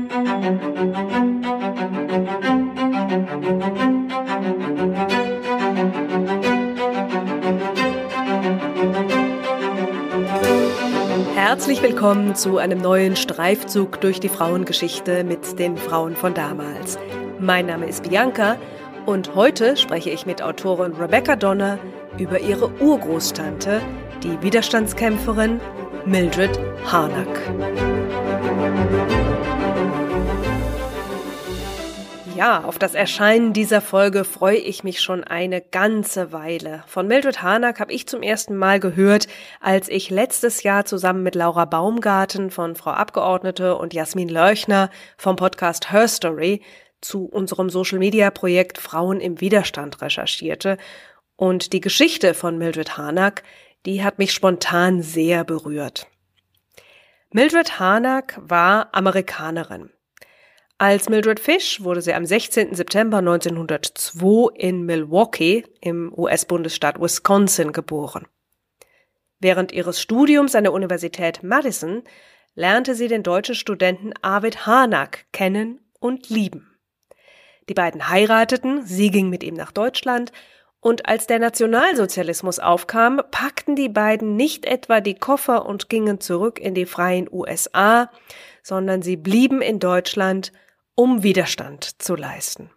Herzlich willkommen zu einem neuen Streifzug durch die Frauengeschichte mit den Frauen von damals. Mein Name ist Bianca und heute spreche ich mit Autorin Rebecca Donner über ihre Urgroßtante, die Widerstandskämpferin Mildred Harnack. Ja, auf das Erscheinen dieser Folge freue ich mich schon eine ganze Weile. Von Mildred Harnack habe ich zum ersten Mal gehört, als ich letztes Jahr zusammen mit Laura Baumgarten von Frau Abgeordnete und Jasmin Lörchner vom Podcast Her Story zu unserem Social-Media-Projekt Frauen im Widerstand recherchierte. Und die Geschichte von Mildred Harnack, die hat mich spontan sehr berührt. Mildred Harnack war Amerikanerin. Als Mildred Fish wurde sie am 16. September 1902 in Milwaukee im US-Bundesstaat Wisconsin geboren. Während ihres Studiums an der Universität Madison lernte sie den deutschen Studenten Arvid Harnack kennen und lieben. Die beiden heirateten, sie ging mit ihm nach Deutschland und als der Nationalsozialismus aufkam, packten die beiden nicht etwa die Koffer und gingen zurück in die freien USA, sondern sie blieben in Deutschland, um Widerstand zu leisten.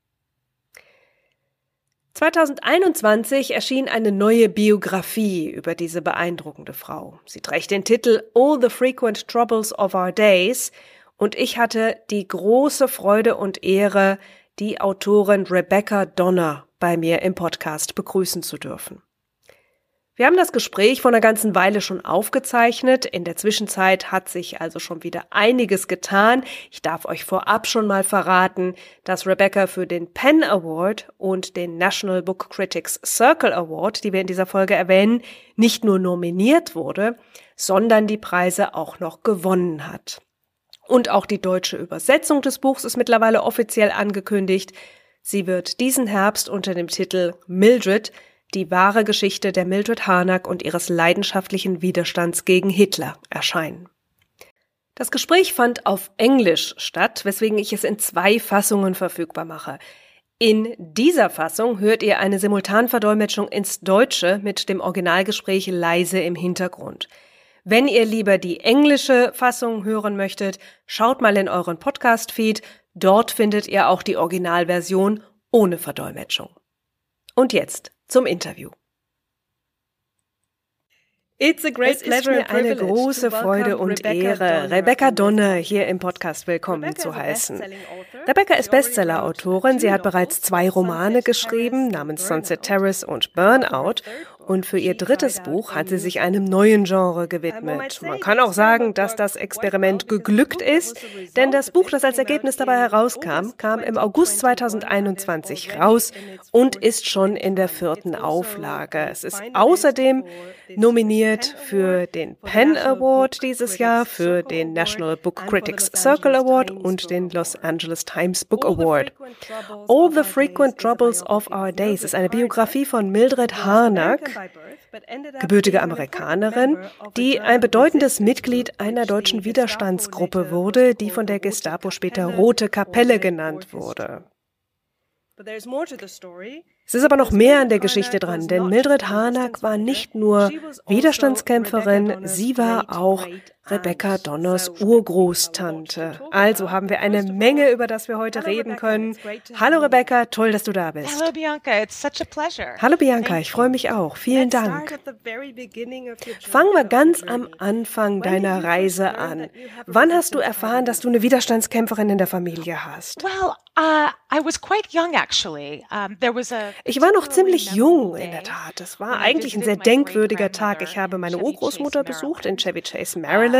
2021 erschien eine neue Biografie über diese beeindruckende Frau. Sie trägt den Titel All the Frequent Troubles of Our Days und ich hatte die große Freude und Ehre, die Autorin Rebecca Donner bei mir im Podcast begrüßen zu dürfen. Wir haben das Gespräch vor einer ganzen Weile schon aufgezeichnet. In der Zwischenzeit hat sich also schon wieder einiges getan. Ich darf euch vorab schon mal verraten, dass Rebecca für den PEN Award und den National Book Critics Circle Award, die wir in dieser Folge erwähnen, nicht nur nominiert wurde, sondern die Preise auch noch gewonnen hat. Und auch die deutsche Übersetzung des Buchs ist mittlerweile offiziell angekündigt. Sie wird diesen Herbst unter dem Titel Mildred, die wahre Geschichte der Mildred Harnack und ihres leidenschaftlichen Widerstands gegen Hitler erscheinen. Das Gespräch fand auf Englisch statt, weswegen ich es in 2 Fassungen verfügbar mache. In dieser Fassung hört ihr eine Simultanverdolmetschung ins Deutsche mit dem Originalgespräch leise im Hintergrund. Wenn ihr lieber die englische Fassung hören möchtet, schaut mal in euren Podcast-Feed. Dort findet ihr auch die Originalversion ohne Verdolmetschung. Und jetzt zum Interview. Es ist mir eine große Freude und Ehre, Rebecca Donner hier im Podcast willkommen zu heißen. Rebecca ist Bestseller-Autorin. Sie hat bereits 2 Romane geschrieben, namens Sunset Terrace und Burnout. Und für ihr 3. Buch hat sie sich einem neuen Genre gewidmet. Man kann auch sagen, dass das Experiment geglückt ist, denn das Buch, das als Ergebnis dabei herauskam, kam im August 2021 raus und ist schon in der 4. Auflage. Es ist außerdem nominiert für den PEN Award dieses Jahr, für den National Book Critics Circle Award und den Los Angeles Times Book Award. All the Frequent Troubles of Our Days ist eine Biografie von Mildred Harnack, gebürtige Amerikanerin, die ein bedeutendes Mitglied einer deutschen Widerstandsgruppe wurde, die von der Gestapo später Rote Kapelle genannt wurde. Es ist aber noch mehr an der Geschichte dran, denn Mildred Harnack war nicht nur Widerstandskämpferin, sie war auch Rebecca Donners Urgroßtante. Also haben wir eine Menge, über das wir heute reden können. Hallo Rebecca, toll, dass du da bist. Hello Bianca, it's such a pleasure. Hallo Bianca, ich freue mich auch. Vielen Dank. Fangen wir ganz am Anfang deiner Reise an. Wann hast du erfahren, dass du eine Widerstandskämpferin in der Familie hast? Well, I was quite young actually. Ich war noch ziemlich jung, in der Tat. Es war eigentlich ein sehr denkwürdiger Tag. Ich habe meine Urgroßmutter besucht in Chevy Chase, Maryland.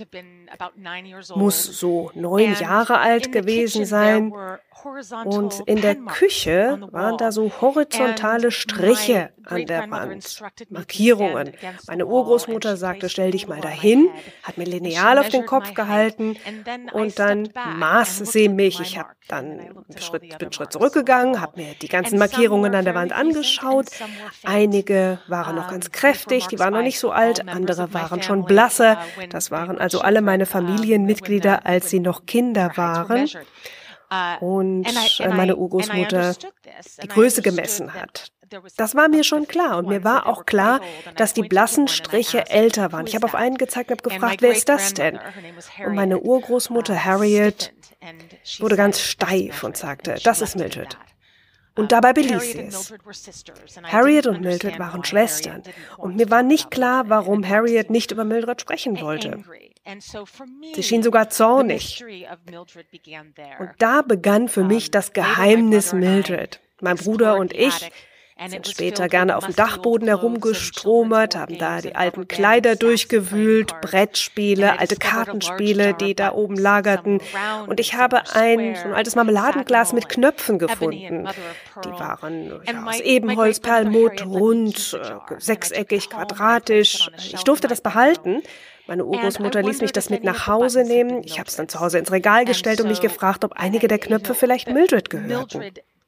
Muss so 9 Jahre alt gewesen sein. Und in der Küche waren da so horizontale Striche an der Wand, Markierungen. Meine Urgroßmutter sagte, stell dich mal dahin, hat mir Lineal auf den Kopf gehalten und dann maß sie mich. Ich habe dann bin einen Schritt zurückgegangen, habe mir die ganzen Markierungen an der Wand angeschaut. Einige waren noch ganz kräftig, die waren noch nicht so alt, andere waren schon blasser. Das waren also alle meine Familienmitglieder, als sie noch Kinder waren. Und meine Urgroßmutter die Größe gemessen hat. Das war mir schon klar und mir war auch klar, dass die blassen Striche älter waren. Ich habe auf einen gezeigt und habe gefragt, wer ist das denn? Und meine Urgroßmutter Harriet wurde ganz steif und sagte, das ist Mildred. Und dabei beließ sie es. Harriet und Mildred waren Schwestern und mir war nicht klar, warum Harriet nicht über Mildred sprechen wollte. Sie schien sogar zornig. Und da begann für mich das Geheimnis Mildred. Mein Bruder und ich sind später gerne auf dem Dachboden herumgestromert, haben da die alten Kleider durchgewühlt, Brettspiele, alte Kartenspiele, die da oben lagerten. Und ich habe so ein altes Marmeladenglas mit Knöpfen gefunden. Die waren aus Ebenholz, Perlmutt, rund, sechseckig, quadratisch. Ich durfte das behalten. Meine Urgroßmutter ließ mich das mit nach Hause nehmen. Ich habe es dann zu Hause ins Regal gestellt und mich gefragt, ob einige der Knöpfe vielleicht Mildred gehörten.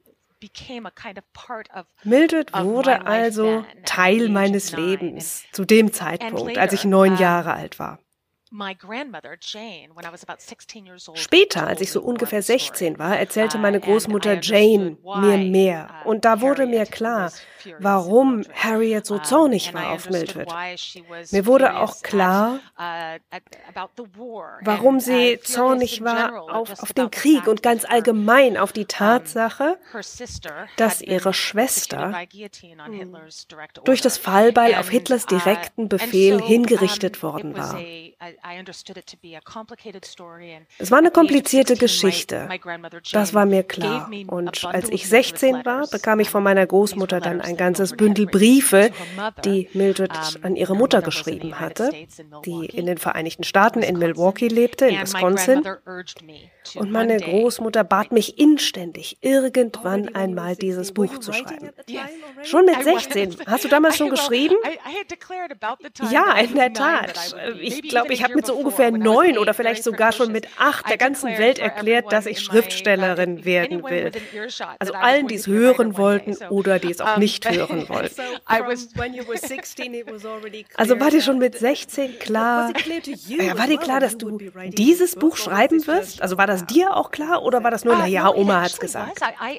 Mildred wurde also Teil meines Lebens zu dem Zeitpunkt, als ich 9 Jahre alt war. Später, als ich so ungefähr 16 war, erzählte meine Großmutter Jane mir mehr. Und da wurde mir klar, warum Harriet so zornig war auf Mildred. Mir wurde auch klar, warum sie zornig war auf den Krieg und ganz allgemein auf die Tatsache, dass ihre Schwester durch das Fallbeil auf Hitlers direkten Befehl hingerichtet worden war. Es war eine komplizierte Geschichte, das war mir klar. Und als ich 16 war, bekam ich von meiner Großmutter dann ein ganzes Bündel Briefe, die Mildred an ihre Mutter geschrieben hatte, die in den Vereinigten Staaten in Milwaukee lebte, in Wisconsin. Und meine Großmutter bat mich inständig, irgendwann einmal dieses Buch zu schreiben. Schon mit 16. Hast du damals schon geschrieben? Ja, in der Tat. Ich glaube, ich habe mit so ungefähr 9 oder vielleicht sogar schon mit 8 der ganzen Welt erklärt, dass ich Schriftstellerin werden will. Also allen, die es hören wollten oder die es auch nicht hören wollten. Also war dir schon mit 16 klar, war dir klar, dass du dieses Buch schreiben wirst? Also war das dir auch klar oder war das nur, naja, Oma hat's gesagt?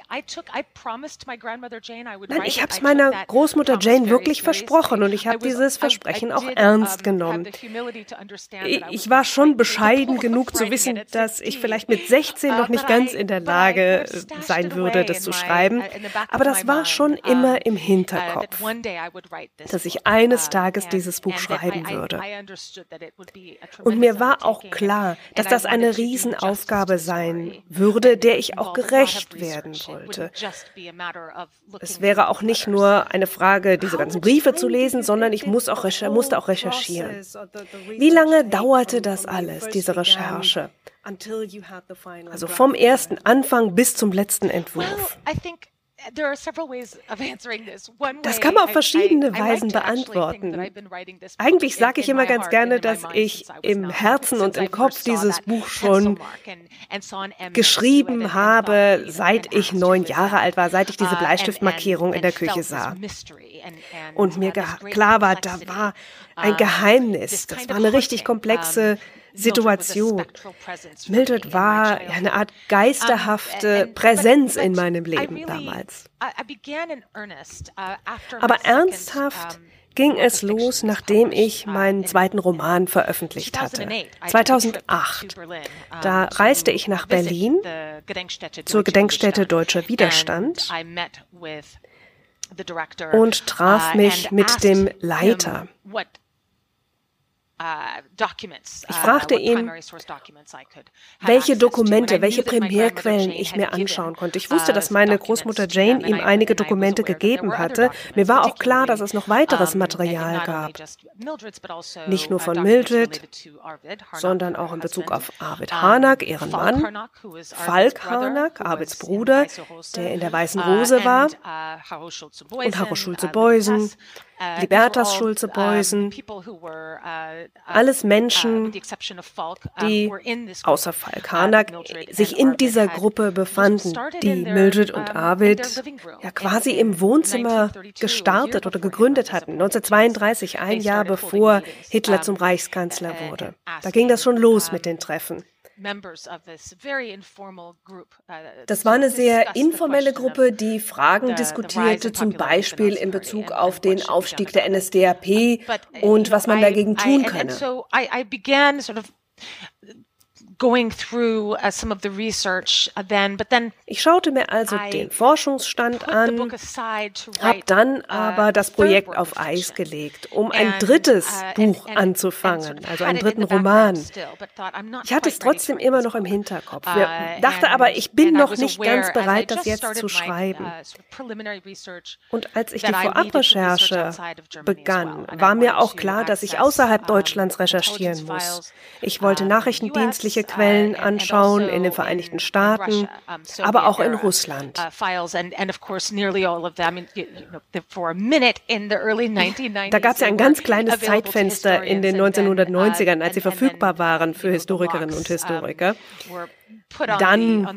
Nein, ich habe es meiner Großmutter Jane wirklich versprochen und ich habe dieses Versprechen auch ernst genommen. Ich war schon bescheiden genug zu wissen, dass ich vielleicht mit 16 noch nicht ganz in der Lage sein würde, das zu schreiben. Aber das war schon immer im Hinterkopf, dass ich eines Tages dieses Buch schreiben würde. Und mir war auch klar, dass das eine Riesenaufgabe sein würde, der ich auch gerecht werden wollte. Es wäre auch nicht nur eine Frage, diese ganzen Briefe zu lesen, sondern ich musste auch recherchieren. Wie lange dauerte das alles, diese Recherche? Also vom ersten Anfang bis zum letzten Entwurf. Das kann man auf verschiedene Weisen beantworten. Eigentlich sage ich immer ganz gerne, dass ich im Herzen und im Kopf dieses Buch schon geschrieben habe, seit ich 9 Jahre alt war, seit ich diese Bleistiftmarkierung in der Küche sah. Und mir klar war, da war ein Geheimnis. Das war eine richtig komplexe Situation. Mildred war eine Art geisterhafte Präsenz in meinem Leben damals. Aber ernsthaft ging es los, nachdem ich meinen zweiten Roman veröffentlicht hatte. 2008. Da reiste ich nach Berlin zur Gedenkstätte Deutscher Widerstand und traf mich mit dem Leiter. Ich fragte ihn, welche Dokumente, welche Primärquellen ich mir anschauen konnte. Ich wusste, dass meine Großmutter Jane ihm einige Dokumente gegeben hatte. Mir war auch klar, dass es noch weiteres Material gab. Nicht nur von Mildred, sondern auch in Bezug auf Arvid Harnack, ihren Mann, Falk Harnack, Arvids Bruder, der in der Weißen Rose war, und Harro Schulze-Beusen. Libertas Schulze-Beusen, alles Menschen, die außer Falk Harnack sich in dieser Gruppe befanden, die Mildred und Arvid ja quasi im Wohnzimmer gestartet oder gegründet hatten, 1932, ein Jahr bevor Hitler zum Reichskanzler wurde. Da ging das schon los mit den Treffen. Das war eine sehr informelle Gruppe, die Fragen diskutierte, zum Beispiel in Bezug auf den Aufstieg der NSDAP und was man dagegen tun könne. Ich schaute mir also den Forschungsstand an, habe dann aber das Projekt auf Eis gelegt, um ein drittes Buch anzufangen, also einen dritten Roman. Ich hatte es trotzdem immer noch im Hinterkopf, dachte aber, ich bin noch nicht ganz bereit, das jetzt zu schreiben. Und als ich die Vorabrecherche begann, war mir auch klar, dass ich außerhalb Deutschlands recherchieren muss. Ich wollte nachrichtendienstliche Quellen anschauen in den Vereinigten Staaten, aber auch in Russland. Da gab es ja ein ganz kleines Zeitfenster in den 1990ern, als sie verfügbar waren für Historikerinnen und Historiker. Dann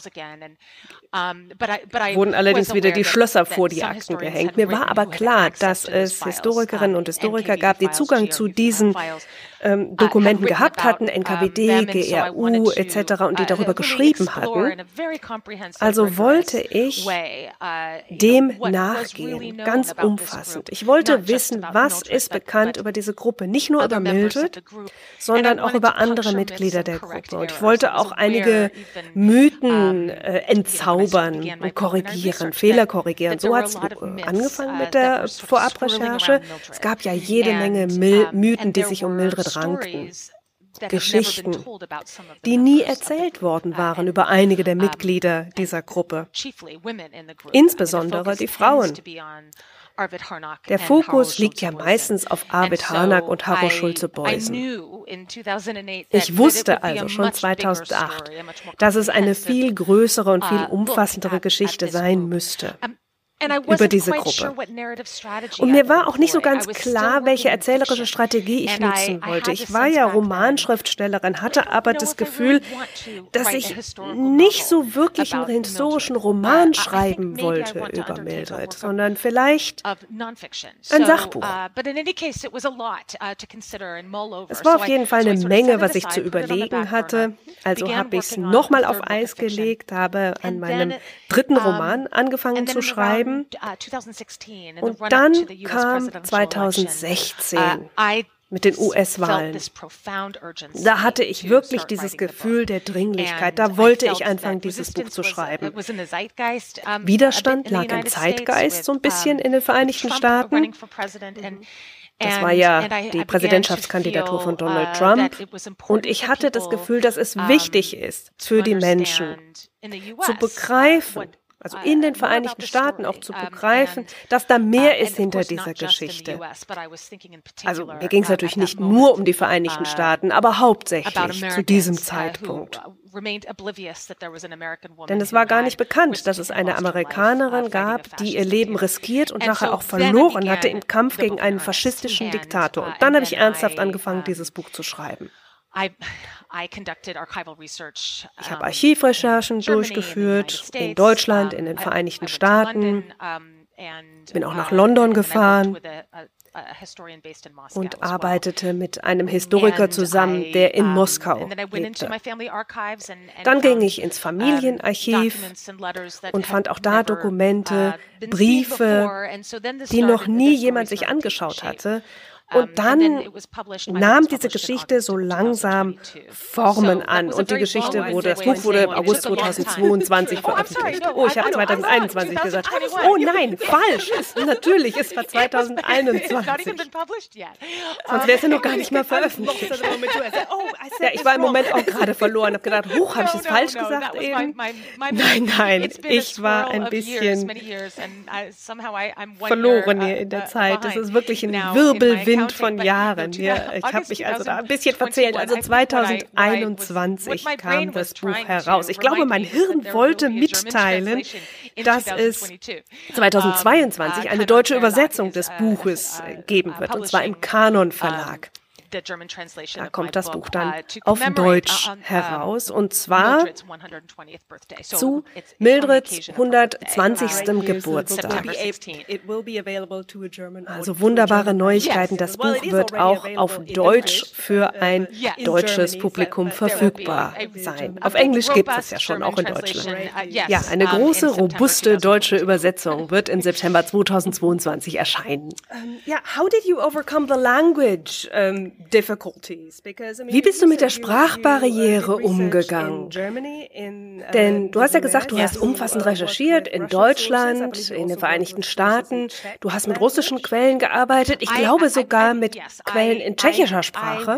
wurden allerdings wieder die Schlösser vor die Akten gehängt. Mir war aber klar, dass es Historikerinnen und Historiker gab, die Zugang zu diesen Dokumenten gehabt hatten, NKWD, GRU etc. und die darüber geschrieben hatten. Also wollte ich dem nachgehen, ganz umfassend. Ich wollte wissen, was ist bekannt über diese Gruppe, nicht nur über Mildred, sondern auch über andere Mitglieder der Gruppe. Und ich wollte auch einige Mythen entzaubern und korrigieren, Fehler korrigieren. So hat es angefangen mit der Vorabrecherche. Es gab ja jede Menge Mythen, die sich um Mildred rankten. Geschichten, die nie erzählt worden waren über einige der Mitglieder dieser Gruppe, insbesondere die Frauen. Der Fokus liegt ja meistens auf Arvid Harnack und Harro Schulze-Beusen. Ich wusste also schon 2008, dass es eine viel größere und viel umfassendere Geschichte sein müsste über diese Gruppe. Und mir war auch nicht so ganz klar, welche erzählerische Strategie ich nutzen wollte. Ich war ja Romanschriftstellerin, hatte aber das Gefühl, dass ich nicht so wirklich einen historischen Roman schreiben wollte über Mildred, sondern vielleicht ein Sachbuch. Es war auf jeden Fall eine Menge, was ich zu überlegen hatte. Also habe ich es nochmal auf Eis gelegt, habe an meinem dritten Roman angefangen zu schreiben. Und dann kam 2016 mit den US-Wahlen. Da hatte ich wirklich dieses Gefühl der Dringlichkeit. Da wollte ich anfangen, dieses Buch zu schreiben. Widerstand lag im Zeitgeist so ein bisschen in den Vereinigten Staaten. Das war ja die Präsidentschaftskandidatur von Donald Trump. Und ich hatte das Gefühl, dass es wichtig ist, für die Menschen zu begreifen, also in den Vereinigten Staaten auch zu begreifen, dass da mehr ist hinter dieser Geschichte. Also mir ging es natürlich nicht nur um die Vereinigten Staaten, aber hauptsächlich zu diesem Zeitpunkt. Denn es war gar nicht bekannt, dass es eine Amerikanerin gab, die ihr Leben riskiert und nachher auch verloren hatte im Kampf gegen einen faschistischen Diktator. Und dann habe ich ernsthaft angefangen, dieses Buch zu schreiben. Ich habe Archivrecherchen durchgeführt in Deutschland, in den Vereinigten Staaten, bin auch nach London gefahren und arbeitete mit einem Historiker zusammen, der in Moskau lebte. Dann ging ich ins Familienarchiv und fand auch da Dokumente, Briefe, die noch nie jemand sich angeschaut hatte. Und dann nahm diese Geschichte so langsam Formen an und die Geschichte das Buch wurde im August 2022 veröffentlicht. Oh, ich habe 2021 gesagt. Oh nein, falsch. Natürlich, es war 2021. Sonst wäre es ja noch gar nicht mal veröffentlicht. Ja, ich war im Moment auch gerade verloren. Habe gedacht, huch, habe ich es falsch gesagt eben? Nein, ich war ein bisschen verloren hier in der Zeit. Das ist wirklich ein Wirbelwind Bund von Jahren. Hier, ich habe mich also da ein bisschen verzählt. Also 2021 kam das Buch heraus. Ich glaube, mein Hirn wollte mitteilen, dass es 2022 eine deutsche Übersetzung des Buches geben wird, und zwar im Kanon Verlag. Da kommt das Buch dann auf Deutsch heraus, und zwar zu Mildreds 120. Geburtstag. Also wunderbare Neuigkeiten. Das Buch wird auch auf Deutsch für ein deutsches Publikum verfügbar sein. Auf Englisch gibt es ja schon, auch in Deutschland. Ja, eine große, robuste deutsche Übersetzung wird im September 2022 erscheinen. How did you overcome the language Wie bist du mit der Sprachbarriere umgegangen? Denn du hast ja gesagt, du hast umfassend recherchiert in Deutschland, in den Vereinigten Staaten. Du hast mit russischen Quellen gearbeitet. Ich glaube sogar mit Quellen in tschechischer Sprache.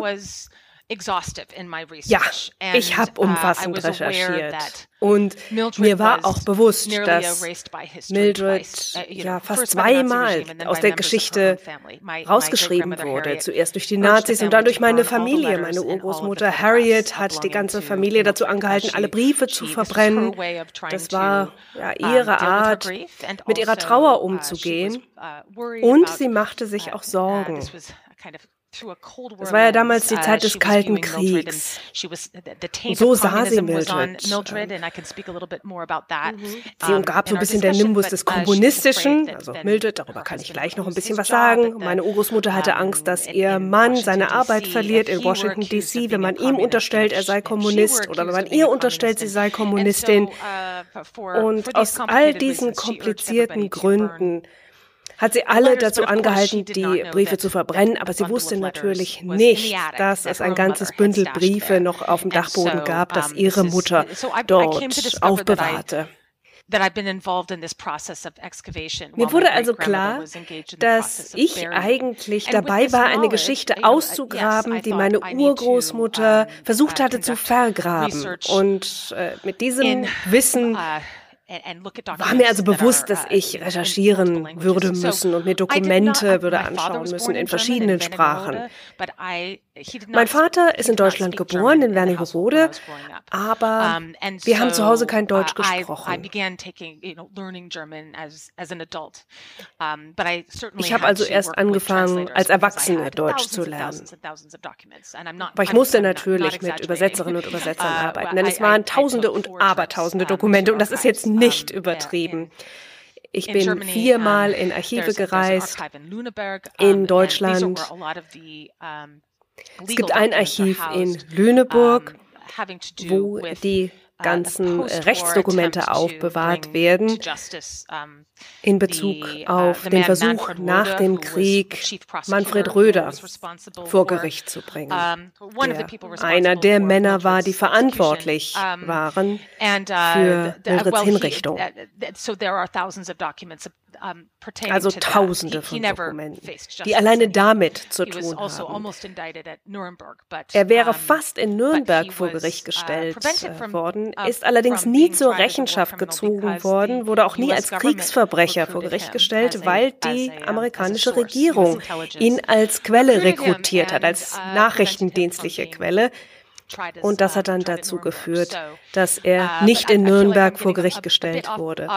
Ja, ich habe umfassend recherchiert. Und mir war auch bewusst, dass Mildred fast zweimal aus der Geschichte rausgeschrieben wurde. Zuerst durch die Nazis und dann durch meine Familie. Meine Urgroßmutter Harriet hat die ganze Familie dazu angehalten, alle Briefe zu verbrennen. Das war ihre Art, mit ihrer Trauer umzugehen. Und sie machte sich auch Sorgen. Das war ja damals die Zeit des Kalten Kriegs. Und so sah sie Mildred. Sie umgab so ein bisschen der Nimbus des Kommunistischen. Also Mildred, darüber kann ich gleich noch ein bisschen was sagen. Meine Urgroßmutter hatte Angst, dass ihr Mann seine Arbeit verliert in Washington, D.C., wenn man ihm unterstellt, er sei Kommunist, oder wenn man ihr unterstellt, sie sei Kommunistin. Und aus all diesen komplizierten Gründen hat sie alle dazu angehalten, die Briefe zu verbrennen, aber sie wusste natürlich nicht, dass es ein ganzes Bündel Briefe noch auf dem Dachboden gab, das ihre Mutter dort aufbewahrte. Mir wurde also klar, dass ich eigentlich dabei war, eine Geschichte auszugraben, die meine Urgroßmutter versucht hatte zu vergraben. Und mit diesem Wissen war mir also bewusst, dass ich recherchieren würde müssen und mir Dokumente würde anschauen müssen in verschiedenen Sprachen. Mein Vater ist in Deutschland geboren, in Wernigerode, aber wir haben zu Hause kein Deutsch gesprochen. Ich habe also erst angefangen, als Erwachsene Deutsch zu lernen. Aber ich musste natürlich mit Übersetzerinnen und Übersetzern arbeiten, denn es waren Tausende und Abertausende Dokumente, und das ist jetzt nicht übertrieben. Ich bin 4-mal in Archive gereist, in Deutschland. Es gibt ein Archiv in Lüneburg, wo die ganzen Rechtsdokumente aufbewahrt werden in Bezug auf den Versuch, nach dem Krieg Manfred Röder vor Gericht zu bringen, der einer der Männer war, die verantwortlich waren für Mildreds Hinrichtung. Also Tausende von Dokumenten, die alleine damit zu tun haben. Er wäre fast in Nürnberg vor Gericht gestellt worden, ist allerdings nie zur Rechenschaft gezogen worden, wurde auch nie als Kriegsverbrecher vor Gericht gestellt, weil die amerikanische Regierung ihn als Quelle rekrutiert hat, als nachrichtendienstliche Quelle. Und das hat dann dazu geführt, dass er nicht in Nürnberg vor Gericht gestellt wurde.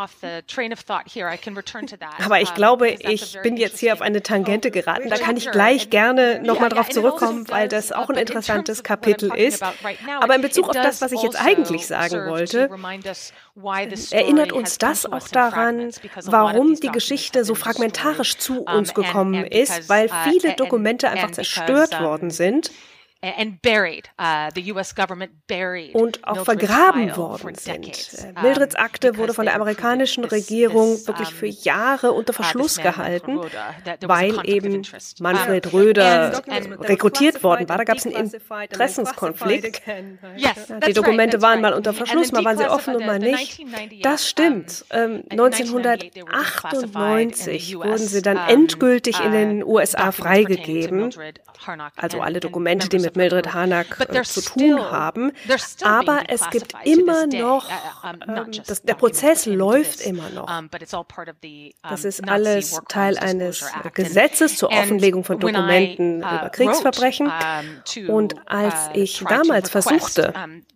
Aber ich glaube, ich bin jetzt hier auf eine Tangente geraten. Da kann ich gleich gerne nochmal drauf zurückkommen, weil das auch ein interessantes Kapitel ist. Aber in Bezug auf das, was ich jetzt eigentlich sagen wollte, erinnert uns das auch daran, warum die Geschichte so fragmentarisch zu uns gekommen ist, weil viele Dokumente einfach zerstört worden sind. Und auch vergraben worden sind. Mildreds Akte wurde von der amerikanischen Regierung wirklich für Jahre unter Verschluss gehalten, weil eben Manfred Röder rekrutiert worden war. Da gab es einen Interessenskonflikt. Die Dokumente waren mal unter Verschluss, mal waren sie offen und mal nicht. Das stimmt. 1998 wurden sie dann endgültig in den USA freigegeben. Also alle Dokumente, die mit mit Mildred Harnack zu tun haben. Aber es gibt immer noch, der Prozess läuft immer noch. Das ist alles Teil eines Gesetzes zur Offenlegung von Dokumenten über Kriegsverbrechen. Und als ich damals versuchte,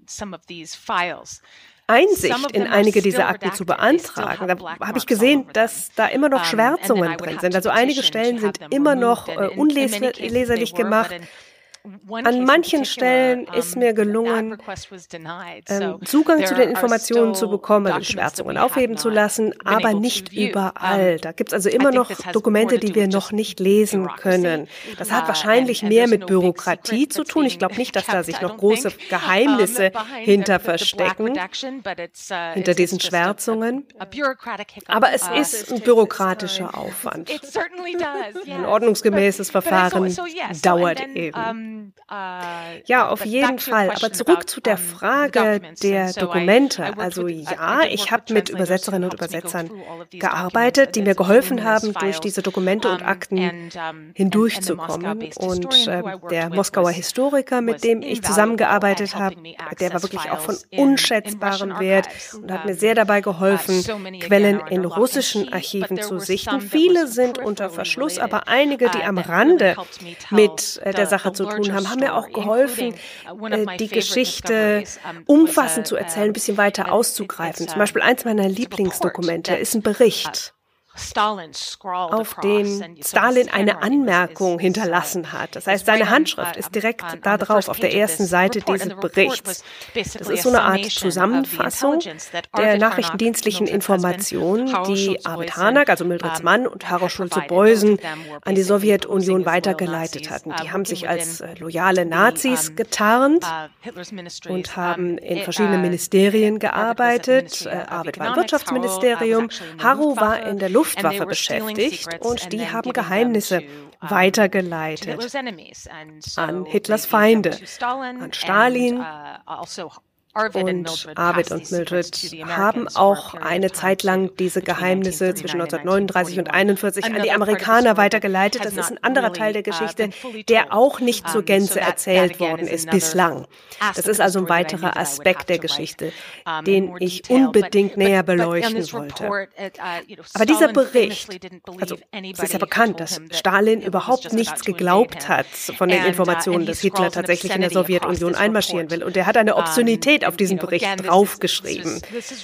Einsicht in einige dieser Akten zu beantragen, da habe ich gesehen, dass da immer noch Schwärzungen drin sind. Also einige Stellen sind immer noch unleserlich gemacht. An manchen Stellen ist mir gelungen, Zugang zu den Informationen zu bekommen, die Schwärzungen aufheben zu lassen, aber nicht überall. Da gibt es also immer noch Dokumente, die wir noch nicht lesen können. Das hat wahrscheinlich mehr mit Bürokratie zu tun. Ich glaube nicht, dass da sich noch große Geheimnisse hinter verstecken, hinter diesen Schwärzungen. Aber es ist ein bürokratischer Aufwand. Ein ordnungsgemäßes Verfahren dauert eben. Ja, auf jeden Fall. Aber zurück zu der Frage der Dokumente. Also ja, ich habe mit Übersetzerinnen und Übersetzern gearbeitet, die mir geholfen haben, durch diese Dokumente und Akten hindurchzukommen. Und der Moskauer Historiker, mit dem ich zusammengearbeitet habe, der war wirklich auch von unschätzbarem Wert und hat mir sehr dabei geholfen, Quellen in russischen Archiven zu sichten. Viele sind unter Verschluss, aber einige, die am Rande mit der Sache zu tun haben mir auch geholfen, die Geschichte umfassend zu erzählen, ein bisschen weiter auszugreifen. Zum Beispiel eins meiner Lieblingsdokumente ist ein Bericht, auf den Stalin eine Anmerkung hinterlassen hat. Das heißt, seine Handschrift ist direkt da drauf, auf der ersten Seite dieses Berichts. Das ist so eine Art Zusammenfassung der nachrichtendienstlichen Informationen, die Arvid Harnack, also Mildreds Mann, und Harold Schulze-Beusen an die Sowjetunion weitergeleitet hatten. Die haben sich als loyale Nazis getarnt und haben in verschiedenen Ministerien gearbeitet. Arvid war im Wirtschaftsministerium, Harro war in der Luftwaffe beschäftigt und die haben Geheimnisse weitergeleitet an Hitlers Feinde, an Stalin. Und Arvid und Mildred haben auch eine Zeit lang diese Geheimnisse zwischen 1939 und 1941 an die Amerikaner weitergeleitet. Das ist ein anderer Teil der Geschichte, der auch nicht zur Gänze erzählt worden ist bislang. Das ist also ein weiterer Aspekt der Geschichte, den ich unbedingt näher beleuchten wollte. Aber dieser Bericht, also es ist ja bekannt, dass Stalin überhaupt nichts geglaubt hat von den Informationen, dass Hitler tatsächlich in der Sowjetunion einmarschieren will. Und er hat eine Obszönität auf diesen Bericht draufgeschrieben.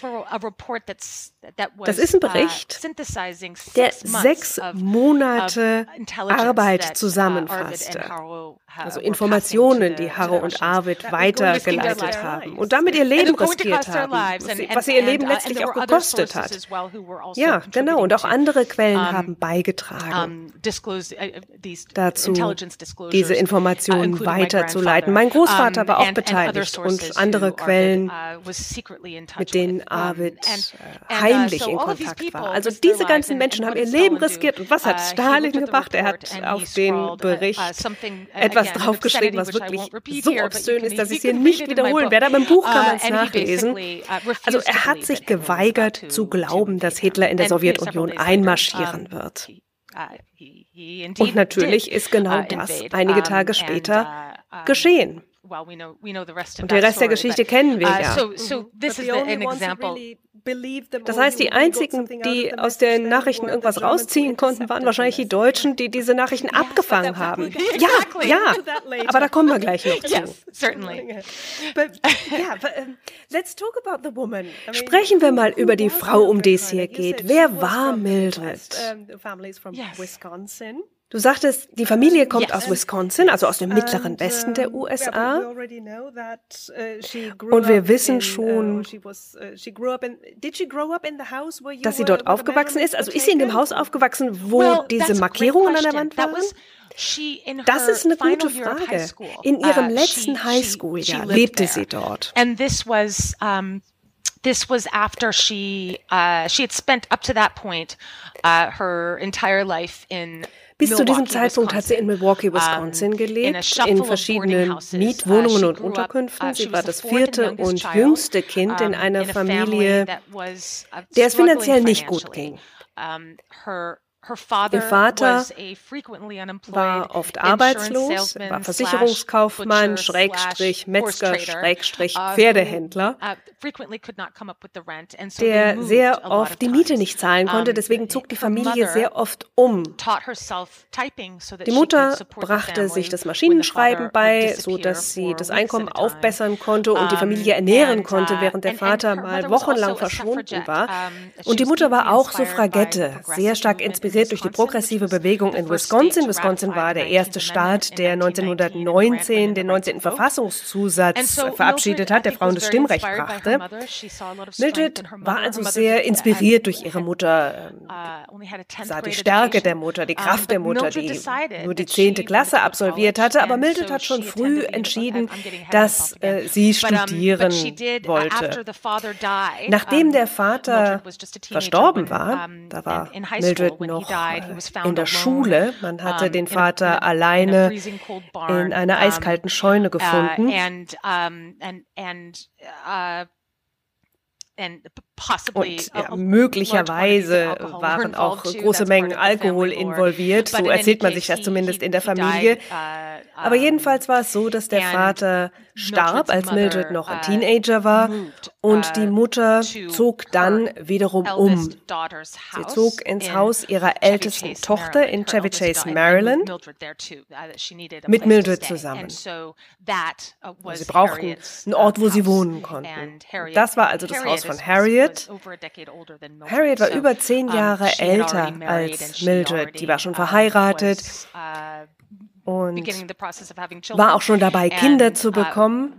Das ist ein Bericht, der 6 Monate Arbeit zusammenfasste. Also Informationen, die Harro und Arvid weitergeleitet haben und damit ihr Leben riskiert haben, was ihr Leben letztlich auch gekostet hat. Ja, genau. Und auch andere Quellen haben beigetragen dazu, diese Informationen weiterzuleiten. Mein Großvater war auch beteiligt und andere Quellen, mit denen Arvid heimlich in Kontakt war. Also diese ganzen Menschen haben ihr Leben riskiert. Und was hat Stalin gemacht? Er hat auf den Bericht etwas draufgeschrieben, was wirklich so obszön ist, dass ich es hier nicht wiederholen werde. Aber im Buch kann man es nachlesen. Also er hat sich geweigert zu glauben, dass Hitler in der Sowjetunion einmarschieren wird. Und natürlich ist genau das einige Tage später geschehen. Und den Rest der Geschichte kennen wir ja. Das heißt, die einzigen, die aus den Nachrichten irgendwas rausziehen konnten, waren wahrscheinlich die Deutschen, die diese Nachrichten abgefangen haben. Ja, aber da kommen wir gleich noch zu. Sprechen wir mal über die Frau, um die es hier geht. Wer war Mildred? Du sagtest, die Familie kommt aus Wisconsin, also aus dem mittleren Westen der USA. Und wir wissen schon, dass sie dort aufgewachsen ist. Also ist sie in dem Haus aufgewachsen, wo diese Markierungen an der Wand waren? Das ist eine gute Frage. In ihrem letzten Highschool-Jahr lebte sie dort. This was after she had spent up to that point her entire life in Bis zu diesem Zeitpunkt hat sie in Milwaukee, Wisconsin gelebt, in verschiedenen Mietwohnungen und Unterkünften. Sie war das 4. und jüngste Kind in einer Familie, der es finanziell nicht gut ging. Ihr Vater war oft arbeitslos, war Versicherungskaufmann, Schrägstrich, Metzger, Schrägstrich, Pferdehändler, der sehr oft die Miete nicht zahlen konnte. Deswegen zog die Familie sehr oft um. Die Mutter brachte sich das Maschinenschreiben bei, so dass sie das Einkommen aufbessern konnte und die Familie ernähren konnte, während der Vater mal wochenlang verschwunden war. Und die Mutter war auch Suffragette, sehr stark inspiriert durch die progressive Bewegung in Wisconsin. Wisconsin war der erste Staat, der 1919 den 19. Verfassungszusatz verabschiedet hat, der Frauen das Stimmrecht brachte. Mildred war also sehr inspiriert durch ihre Mutter, sah die Stärke der Mutter, die Kraft der Mutter, die nur die 10. Klasse absolviert hatte. Aber Mildred hat schon früh entschieden, dass sie studieren wollte. Nachdem der Vater verstorben war, da war Mildred noch in der Schule. Man hatte den Vater alleine in einer eiskalten Scheune gefunden. Und möglicherweise waren auch große Mengen Alkohol involviert. So erzählt man sich das zumindest in der Familie. Aber jedenfalls war es so, dass der Vater starb, als Mildred noch ein Teenager war. Und die Mutter zog dann wiederum um. Sie zog ins Haus ihrer ältesten Tochter in Chevy Chase, Maryland, mit Mildred zusammen. Sie brauchten einen Ort, wo sie wohnen konnten. Das war also das Haus von Harriet. Harriet war über 10 Jahre älter als Mildred. Die war schon verheiratet und war auch schon dabei, Kinder zu bekommen.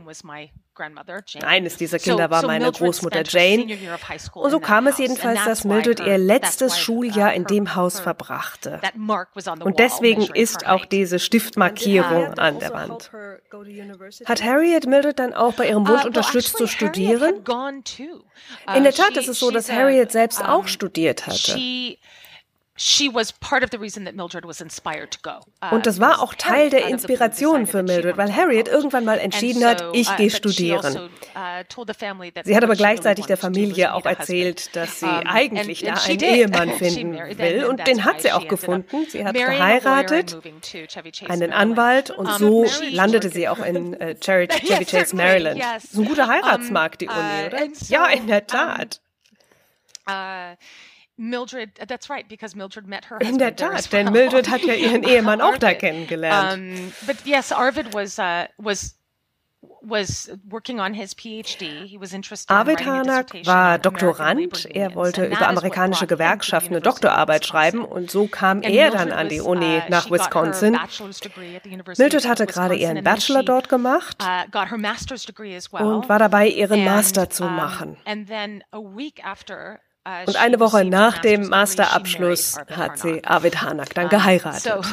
Eines dieser Kinder war meine Großmutter Jane. Und so kam es jedenfalls, dass Mildred ihr letztes Schuljahr in dem Haus verbrachte. Und deswegen ist auch diese Stiftmarkierung an der Wand. Hat Harriet Mildred dann auch bei ihrem Wunsch unterstützt zu studieren? In der Tat ist es so, dass Harriet selbst auch studiert hatte. Und das war auch Teil der Inspiration für Mildred, weil Harriet irgendwann mal entschieden hat, ich gehe studieren. Sie hat aber gleichzeitig der Familie auch erzählt, dass sie eigentlich da einen Ehemann finden will. Und den hat sie auch gefunden. Sie hat geheiratet, einen Anwalt, und so landete sie auch in Chevy Chase, Maryland. Das ist ein guter Heiratsmarkt, die Uni, oder? Ja, in der Tat. In der Tat, denn Mildred hat ja ihren Ehemann auch da kennengelernt. Arvid Harnack war Doktorand. Er wollte über amerikanische Gewerkschaften eine Doktorarbeit schreiben und so kam er dann an die Uni nach Wisconsin. Mildred hatte gerade ihren Bachelor dort gemacht und war dabei, ihren Master zu machen. Und eine Woche nach dem Masterabschluss hat sie Arvid Harnack dann geheiratet.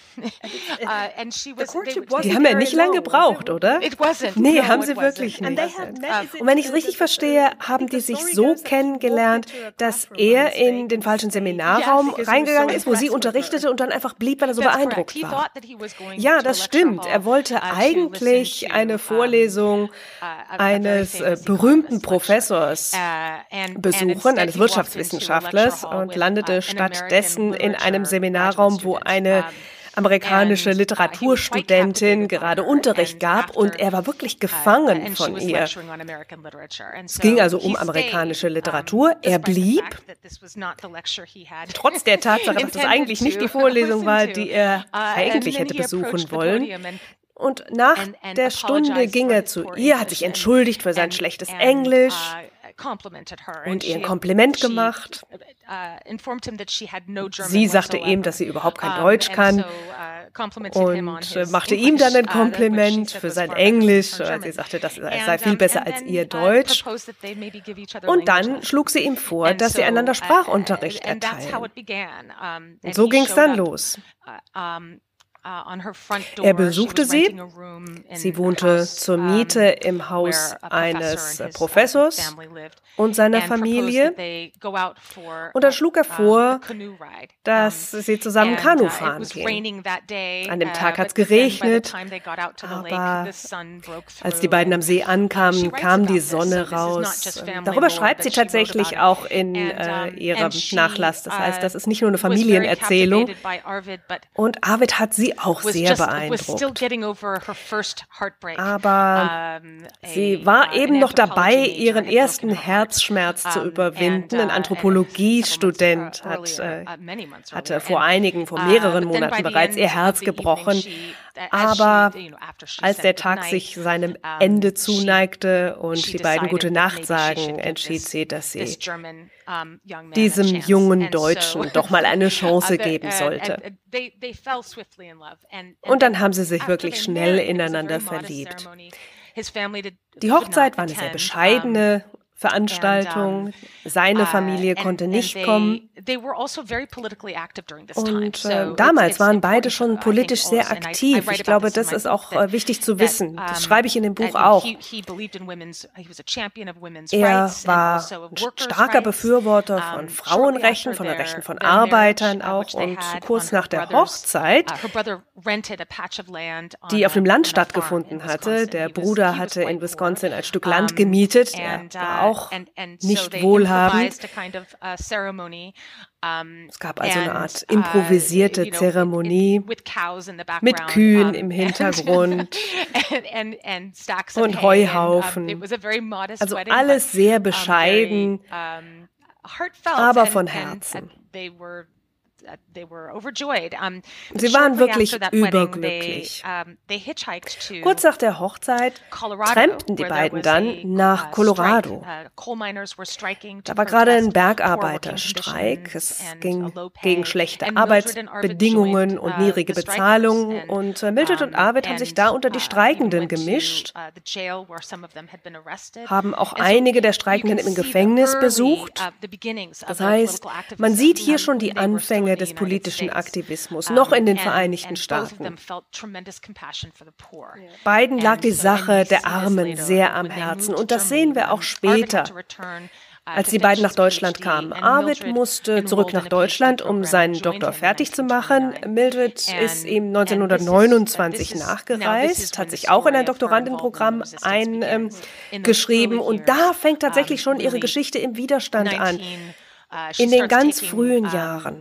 Die haben ja nicht lange gebraucht, oder? Nee, haben sie wirklich nicht. Und wenn ich es richtig verstehe, haben die sich so kennengelernt, dass er in den falschen Seminarraum reingegangen ist, wo sie unterrichtete und dann einfach blieb, weil er so beeindruckt war. Ja, das stimmt. Er wollte eigentlich eine Vorlesung eines berühmten Professors besuchen, eines Wirtschaftswissenschaftlers, und landete stattdessen in einem Seminarraum, wo eine amerikanische Literaturstudentin gerade Unterricht gab und er war wirklich gefangen von ihr. Es ging also um amerikanische Literatur. Er blieb, trotz der Tatsache, dass das eigentlich nicht die Vorlesung war, die er eigentlich hätte besuchen wollen. Und nach der Stunde ging er zu ihr, hat sich entschuldigt für sein schlechtes Englisch und ihr ein Kompliment gemacht. Sie sagte ihm, dass sie überhaupt kein Deutsch kann und machte ihm dann ein Kompliment für sein Englisch. Sie sagte, das sei viel besser als ihr Deutsch. Und dann schlug sie ihm vor, dass sie einander Sprachunterricht erteilen. Und so ging es dann los. Er besuchte sie. Sie wohnte zur Miete im Haus eines Professors und seiner Familie. Und dann schlug er vor, dass sie zusammen Kanu fahren gehen. An dem Tag hat es geregnet, aber als die beiden am See ankamen, kam die Sonne raus. Darüber schreibt sie tatsächlich auch in ihrem Nachlass. Das heißt, das ist nicht nur eine Familienerzählung. Und Arvid hat sie auch sehr beeindruckt. Aber sie war eben noch dabei, ihren ersten Herzschmerz zu überwinden. Ein Anthropologiestudent hatte vor mehreren Monaten bereits ihr Herz gebrochen. Aber als der Tag sich seinem Ende zuneigte und die beiden gute Nacht sagen, entschied sie, dass sie diesem jungen Deutschen doch mal eine Chance geben sollte. Und dann haben sie sich wirklich schnell ineinander verliebt. Die Hochzeit war eine sehr bescheidene Veranstaltung. Seine Familie konnte nicht kommen. Und damals waren beide schon politisch sehr aktiv. Ich glaube, das ist auch wichtig zu wissen. Das schreibe ich in dem Buch auch. Er war ein starker Befürworter von Frauenrechten, von den Rechten von Arbeitern auch. Und kurz nach der Hochzeit, die auf dem Land stattgefunden hatte, der Bruder hatte in Wisconsin ein Stück Land gemietet. Er war auch nicht wohlhabend. Es gab also eine Art improvisierte Zeremonie mit Kühen im Hintergrund und Heuhaufen. Also alles sehr bescheiden, aber von Herzen. Sie waren wirklich überglücklich. Kurz nach der Hochzeit trampten die beiden dann nach Colorado. Da war gerade ein Bergarbeiterstreik. Es ging gegen schlechte Arbeitsbedingungen und niedrige Bezahlung. Und Mildred und Arvid haben sich da unter die Streikenden gemischt, haben auch einige der Streikenden im Gefängnis besucht. Das heißt, man sieht hier schon die Anfänge des politischen Aktivismus, noch in den Vereinigten Staaten. Beiden lag die Sache der Armen sehr am Herzen und das sehen wir auch später, als die beiden nach Deutschland kamen. Arvid musste zurück nach Deutschland, um seinen Doktor fertig zu machen. Mildred ist ihm 1929 nachgereist, hat sich auch in ein Doktorandenprogramm eingeschrieben und da fängt tatsächlich schon ihre Geschichte im Widerstand an. In den ganz frühen Jahren.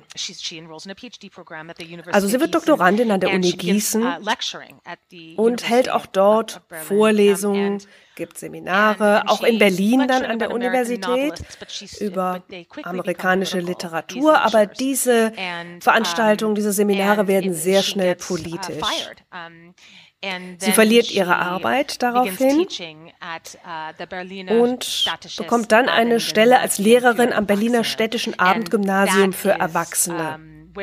Also sie wird Doktorandin an der Uni Gießen und hält auch dort Vorlesungen, gibt Seminare, auch in Berlin dann an der Universität über amerikanische Literatur. Aber diese Veranstaltungen, diese Seminare werden sehr schnell politisch. Sie verliert ihre Arbeit daraufhin und bekommt dann eine Stelle als Lehrerin am Berliner Städtischen Abendgymnasium für Erwachsene.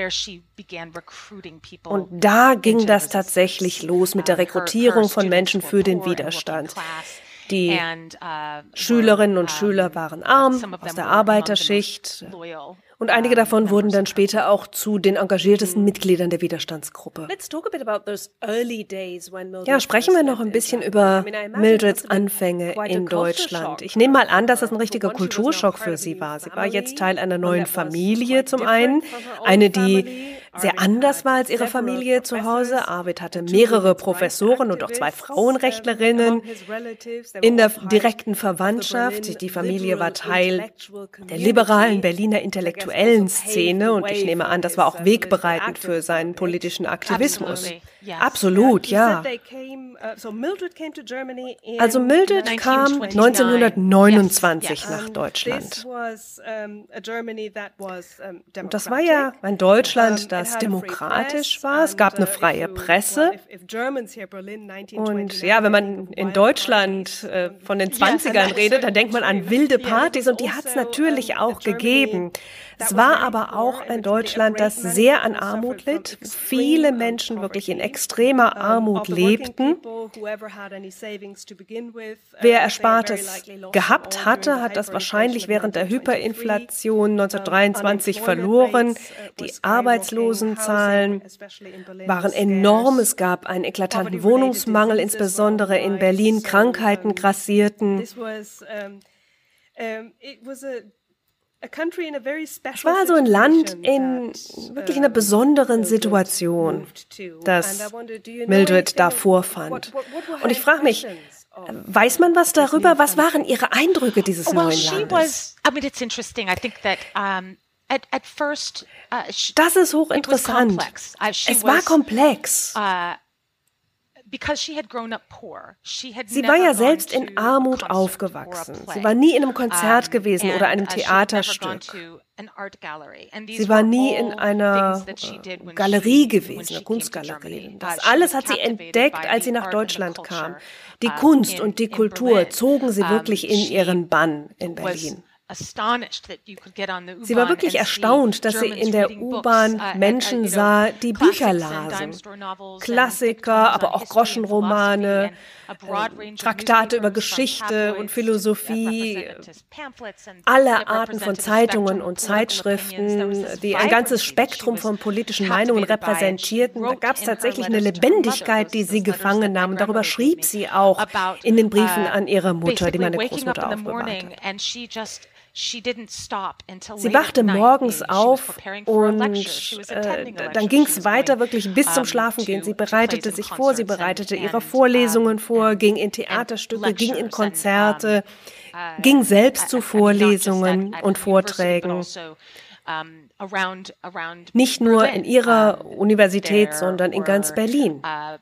Und da ging das tatsächlich los mit der Rekrutierung von Menschen für den Widerstand. Die Schülerinnen und Schüler waren arm, aus der Arbeiterschicht. Und einige davon wurden dann später auch zu den engagiertesten Mitgliedern der Widerstandsgruppe. Ja, sprechen wir noch ein bisschen über Mildreds Anfänge in Deutschland. Ich nehme mal an, dass das ein richtiger Kulturschock für sie war. Sie war jetzt Teil einer neuen Familie zum einen, eine, die sehr anders war als ihre Familie zu Hause. Arvid hatte mehrere Professoren und auch 2 Frauenrechtlerinnen in der direkten Verwandtschaft. Die Familie war Teil der liberalen Berliner intellektuellen Szene und ich nehme an, das war auch wegbereitend für seinen politischen Aktivismus. Absolut, ja. Also Mildred kam 1929 nach Deutschland. Und das war ja ein Deutschland, das demokratisch war. Es gab eine freie Presse. Und ja, wenn man in Deutschland von den 20ern redet, dann denkt man an wilde Partys und die hat es natürlich auch gegeben. Es war aber auch ein Deutschland, das sehr an Armut litt, wo viele Menschen wirklich in extremer Armut lebten. Wer Erspartes gehabt hatte, hat das wahrscheinlich während der Hyperinflation 1923 verloren. Die Arbeitslosenzahlen waren enorm. Es gab einen eklatanten Wohnungsmangel, insbesondere in Berlin. Krankheiten grassierten. Es war also ein Land in wirklich einer besonderen Situation, das Mildred da vorfand. Und ich frage mich, weiß man was darüber? Was waren Ihre Eindrücke dieses neuen Landes? It's interesting. I think that at first, das ist hochinteressant. Es war komplex. Sie war ja selbst in Armut aufgewachsen. Sie war nie in einem Konzert gewesen oder einem Theaterstück. Sie war nie in einer Galerie gewesen, einer Kunstgalerie. Das alles hat sie entdeckt, als sie nach Deutschland kam. Die Kunst und die Kultur zogen sie wirklich in ihren Bann in Berlin. Sie war wirklich erstaunt, dass sie in der U-Bahn Menschen sah, die Bücher lasen. Klassiker, aber auch Groschenromane, Traktate über Geschichte und Philosophie, alle Arten von Zeitungen und Zeitschriften, die ein ganzes Spektrum von politischen Meinungen repräsentierten. Da gab es tatsächlich eine Lebendigkeit, die sie gefangen nahm. Und darüber schrieb sie auch in den Briefen an ihre Mutter, die meine Großmutter aufbewahrt hat. Sie wachte morgens auf und dann ging es weiter wirklich bis zum Schlafengehen. Sie bereitete sich vor, sie bereitete ihre Vorlesungen vor, ging in Theaterstücke, ging in Konzerte, ging selbst zu Vorlesungen und Vorträgen. Nicht nur in ihrer Universität, sondern in ganz Berlin.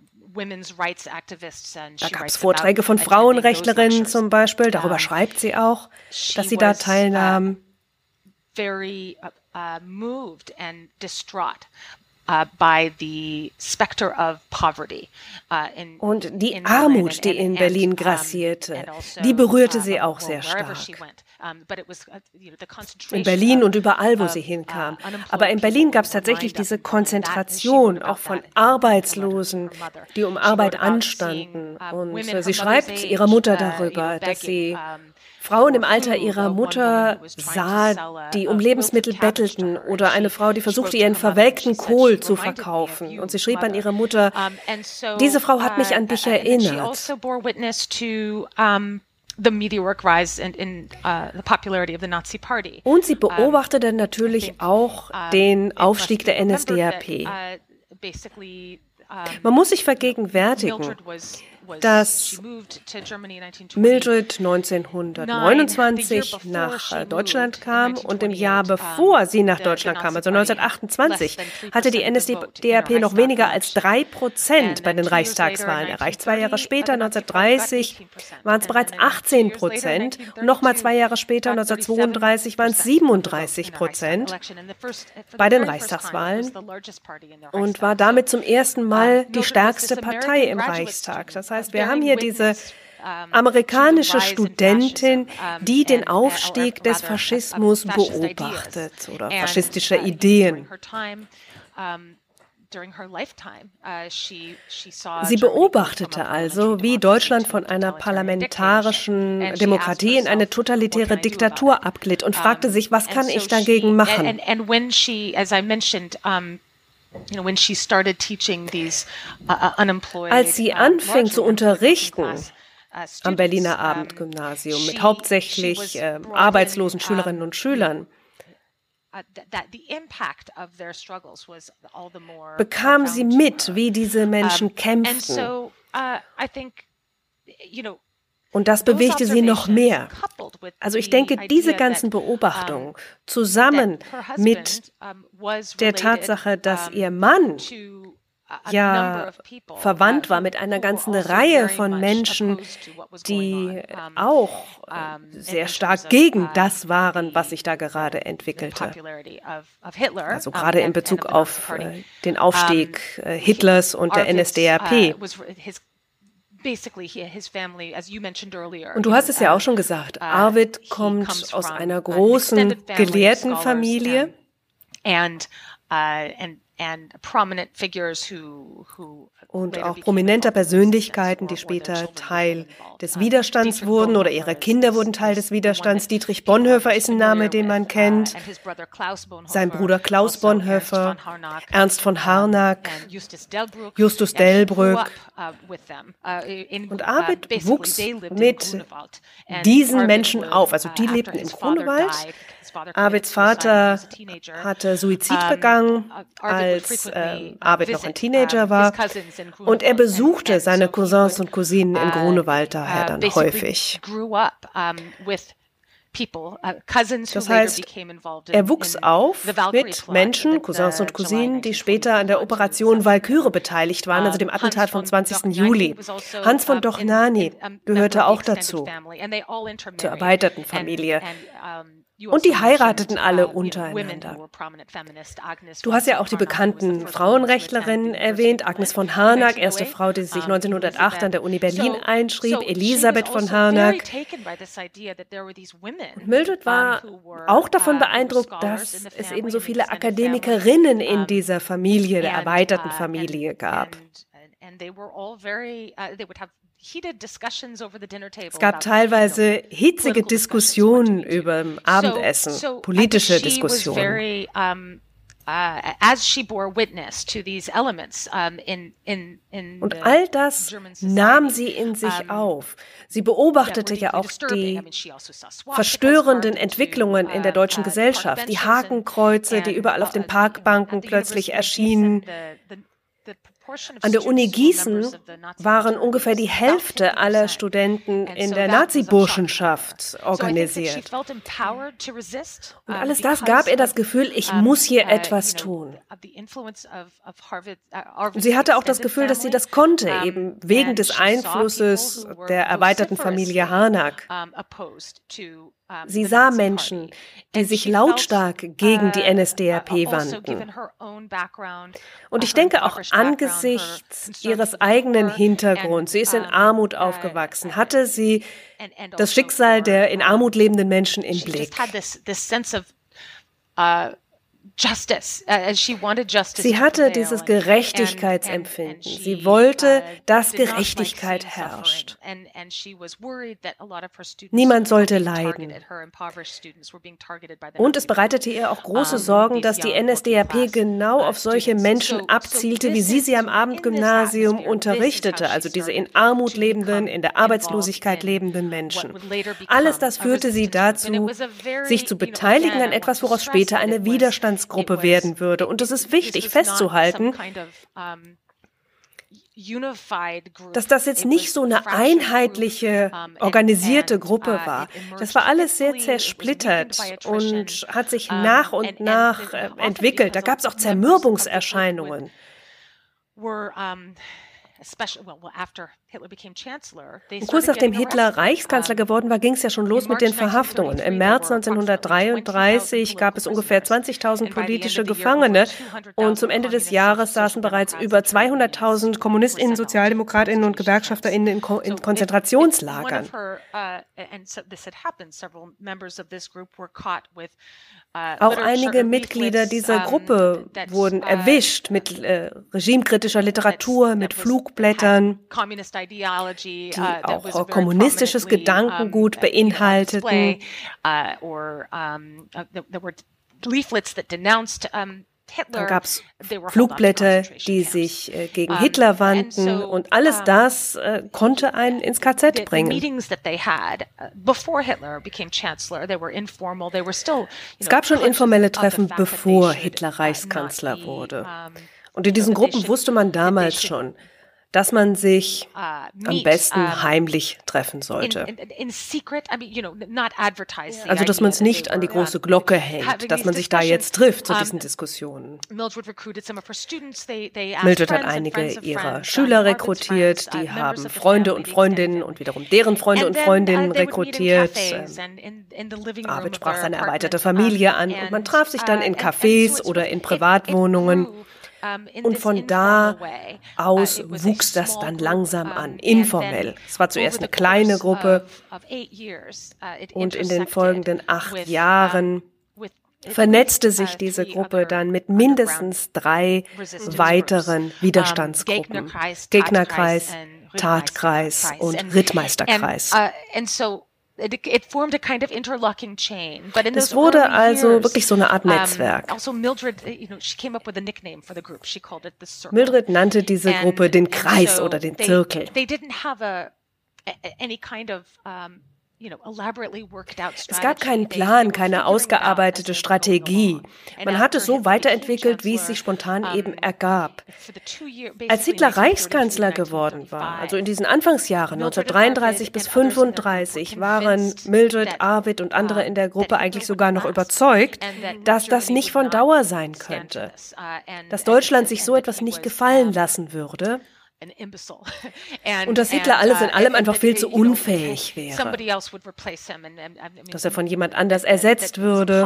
Da gab es Vorträge von Frauenrechtlerinnen zum Beispiel, darüber schreibt sie auch, dass sie da teilnahm. Very moved and distraught by the specter of poverty. Und die Armut, die in Berlin grassierte, die berührte sie auch sehr stark. In Berlin und überall, wo sie hinkam. Aber in Berlin gab es tatsächlich diese Konzentration auch von Arbeitslosen, die um Arbeit anstanden. Und sie schreibt ihrer Mutter darüber, dass sie Frauen im Alter ihrer Mutter sah, die um Lebensmittel bettelten, oder eine Frau, die versuchte, ihren verwelkten Kohl zu verkaufen. Und sie schrieb an ihre Mutter, diese Frau hat mich an dich erinnert. Und sie beobachtete natürlich auch den Aufstieg der NSDAP. Man muss sich vergegenwärtigen, dass Mildred 1929 nach Deutschland kam und im Jahr bevor sie nach Deutschland kam, also 1928, hatte die NSDAP noch weniger als 3% bei den Reichstagswahlen erreicht. 2 Jahre später, 1930, waren es bereits 18%. Und nochmal 2 Jahre später, 1932, waren es 37% bei den Reichstagswahlen und war damit zum ersten Mal die stärkste Partei im Reichstag. Das heißt, wir haben hier diese amerikanische Studentin, die den Aufstieg des Faschismus beobachtet oder faschistischer Ideen. Sie beobachtete also, wie Deutschland von einer parlamentarischen Demokratie in eine totalitäre Diktatur abglitt und fragte sich, was kann ich dagegen machen? Als sie anfing zu unterrichten am Berliner Abendgymnasium mit hauptsächlich arbeitslosen Schülerinnen und Schülern, bekam sie mit, wie diese Menschen kämpften. Und das bewegte sie noch mehr. Also ich denke, diese ganzen Beobachtungen zusammen mit der Tatsache, dass ihr Mann ja verwandt war mit einer ganzen Reihe von Menschen, die auch sehr stark gegen das waren, was sich da gerade entwickelte. Also gerade in Bezug auf den Aufstieg Hitlers und der NSDAP. basically his family, as you mentioned earlier. Und du hast es ja auch schon gesagt, Arvid kommt aus einer großen Gelehrtenfamilie. And prominent figures who und auch prominenter Persönlichkeiten, die später Teil des Widerstands wurden oder ihre Kinder wurden Teil des Widerstands. Dietrich Bonhoeffer ist ein Name, den man kennt. Sein Bruder Klaus Bonhoeffer, Ernst von Harnack, Justus Delbrück. Und Arvid wuchs mit diesen Menschen auf. Also die lebten im Grunewald. Arvids Vater hatte Suizid begangen, als Arvid noch ein Teenager war. Und er besuchte seine Cousins und Cousinen im Grunewald daher dann häufig. Das heißt, er wuchs auf mit Menschen, Cousins und Cousinen, die später an der Operation Walküre beteiligt waren, also dem Attentat vom 20. Juli. Hans von Dohnanyi gehörte auch dazu, zur erweiterten Familie. Und die heirateten alle untereinander. Du hast ja auch die bekannten Frauenrechtlerinnen erwähnt, Agnes von Harnack, erste Frau, die sich 1908 an der Uni Berlin einschrieb, Elisabeth von Harnack. Und Mildred war auch davon beeindruckt, dass es eben so viele Akademikerinnen in dieser Familie, der erweiterten Familie gab. Es gab teilweise hitzige Diskussionen über Abendessen, politische Diskussionen. Und all das nahm sie in sich auf. Sie beobachtete ja auch die verstörenden Entwicklungen in der deutschen Gesellschaft, die Hakenkreuze, die überall auf den Parkbanken plötzlich erschienen. An der Uni Gießen waren ungefähr die Hälfte aller Studenten in der Nazi-Burschenschaft organisiert. Und alles das gab ihr das Gefühl, ich muss hier etwas tun. Und sie hatte auch das Gefühl, dass sie das konnte, eben wegen des Einflusses der erweiterten Familie Harnack. Sie sah Menschen, die sich lautstark gegen die NSDAP wandten. Und ich denke auch angesichts ihres eigenen Hintergrunds, sie ist in Armut aufgewachsen, hatte sie das Schicksal der in Armut lebenden Menschen im Blick. Sie hatte dieses Gerechtigkeitsempfinden. Sie wollte, dass Gerechtigkeit herrscht. Niemand sollte leiden. Und es bereitete ihr auch große Sorgen, dass die NSDAP genau auf solche Menschen abzielte, wie sie am Abendgymnasium unterrichtete, also diese in Armut lebenden, in der Arbeitslosigkeit lebenden Menschen. Alles das führte sie dazu, sich zu beteiligen an etwas, woraus später eine Widerstandsgruppe werden würde. Und es ist wichtig festzuhalten, dass das jetzt nicht so eine einheitliche, organisierte Gruppe war. Das war alles sehr zersplittert und hat sich nach und nach entwickelt. Da gab es auch Zermürbungserscheinungen. Und kurz nachdem Hitler Reichskanzler geworden war, ging es ja schon los mit den Verhaftungen. Im März 1933 gab es ungefähr 20.000 politische Gefangene und zum Ende des Jahres saßen bereits über 200.000 KommunistInnen, Sozialdemokratinnen und GewerkschafterInnen in Konzentrationslagern. Auch einige Mitglieder dieser Gruppe wurden erwischt mit regimekritischer Literatur, mit Flugblättern, die auch kommunistisches Gedankengut beinhalteten. Dann gab es Flugblätter, die sich gegen Hitler wandten und alles das konnte einen ins KZ bringen. Es gab schon informelle Treffen, bevor Hitler Reichskanzler wurde. Und in diesen Gruppen wusste man damals schon, dass man sich am besten heimlich treffen sollte. Also, dass man es nicht an die große Glocke hängt, dass man sich da jetzt trifft zu diesen Diskussionen. Mildred hat einige ihrer Schüler rekrutiert, die haben Freunde und Freundinnen und wiederum deren Freunde und Freundinnen rekrutiert. Arvid sprach seine erweiterte Familie an und man traf sich dann in Cafés oder in Privatwohnungen. Und von da aus wuchs das dann langsam an, informell. Es war zuerst eine kleine Gruppe und in den folgenden 8 Jahren vernetzte sich diese Gruppe dann mit mindestens 3 weiteren Widerstandsgruppen. Gegnerkreis, Tatkreis und Rittmeisterkreis. Es wurde also wirklich so eine Art Netzwerk. Mildred nannte diese Gruppe den Kreis oder den Zirkel. Es gab keinen Plan, keine ausgearbeitete Strategie. Man hat es so weiterentwickelt, wie es sich spontan eben ergab. Als Hitler Reichskanzler geworden war, also in diesen Anfangsjahren 1933 bis 1935, waren Mildred, Arvid und andere in der Gruppe eigentlich sogar noch überzeugt, dass das nicht von Dauer sein könnte, dass Deutschland sich so etwas nicht gefallen lassen würde. Und dass Hitler alles in allem einfach viel zu unfähig wäre, dass er von jemand anders ersetzt würde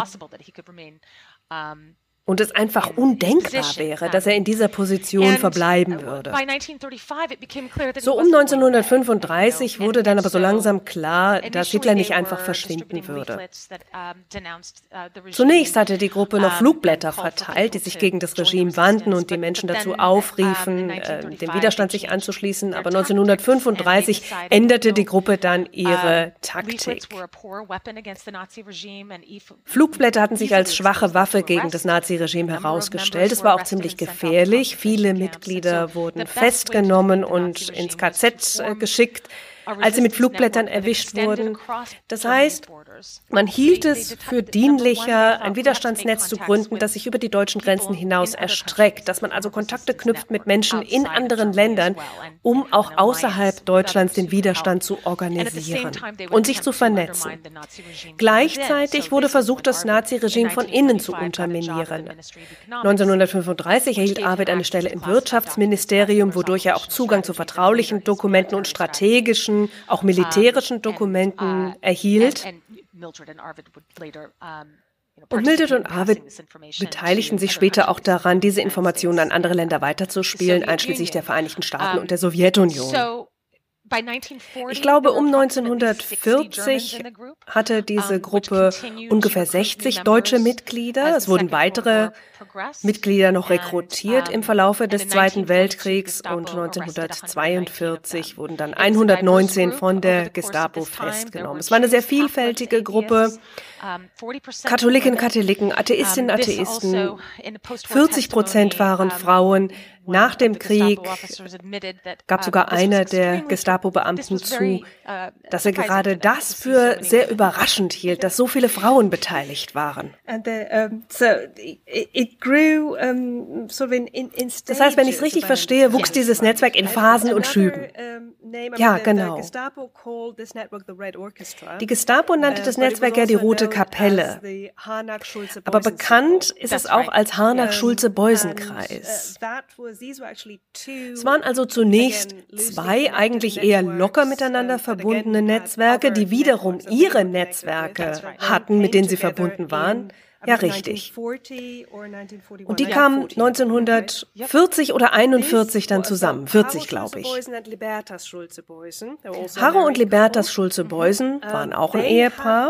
und es einfach undenkbar wäre, dass er in dieser Position verbleiben würde. So um 1935 wurde dann aber so langsam klar, dass Hitler nicht einfach verschwinden würde. Zunächst hatte die Gruppe noch Flugblätter verteilt, die sich gegen das Regime wandten und die Menschen dazu aufriefen, dem Widerstand sich anzuschließen. Aber 1935 änderte die Gruppe dann ihre Taktik. Flugblätter hatten sich als schwache Waffe gegen das Naziregime herausgestellt. Es war auch ziemlich gefährlich. Viele Mitglieder wurden festgenommen und ins KZ geschickt, als sie mit Flugblättern erwischt wurden. Das heißt, man hielt es für dienlicher, ein Widerstandsnetz zu gründen, das sich über die deutschen Grenzen hinaus erstreckt, dass man also Kontakte knüpft mit Menschen in anderen Ländern, um auch außerhalb Deutschlands den Widerstand zu organisieren und sich zu vernetzen. Gleichzeitig wurde versucht, das Naziregime von innen zu unterminieren. 1935 erhielt Arvid eine Stelle im Wirtschaftsministerium, wodurch er auch Zugang zu vertraulichen Dokumenten und strategischen, auch militärischen Dokumenten erhielt. Und Mildred und Arvid beteiligten sich später auch daran, diese Informationen an andere Länder weiterzuspielen, einschließlich der Vereinigten Staaten und der Sowjetunion. Ich glaube, um 1940 hatte diese Gruppe ungefähr 60 deutsche Mitglieder. Es wurden weitere Mitglieder noch rekrutiert im Verlaufe des Zweiten Weltkriegs und 1942 wurden dann 119 von der Gestapo festgenommen. Es war eine sehr vielfältige Gruppe. Katholiken, Katholiken, Atheistinnen, Atheisten. 40% waren Frauen. Nach dem Krieg gab sogar einer der Gestapo-Beamten zu, dass er gerade das für sehr überraschend hielt, dass so viele Frauen beteiligt waren. Das heißt, wenn ich es richtig verstehe, wuchs dieses Netzwerk in Phasen und Schüben. Ja, genau. Die Gestapo nannte das Netzwerk ja die Rote Kapelle. Aber bekannt ist es auch als Harnack-Schulze-Beusen-Kreis. Es waren also zunächst 2 eigentlich eher locker miteinander verbundene Netzwerke, die wiederum ihre Netzwerke hatten, mit denen sie verbunden waren. Ja, richtig. Und die kamen 1940 oder 41 dann zusammen, 40 glaube ich. Harro und Libertas Schulze-Beusen waren auch ein Ehepaar.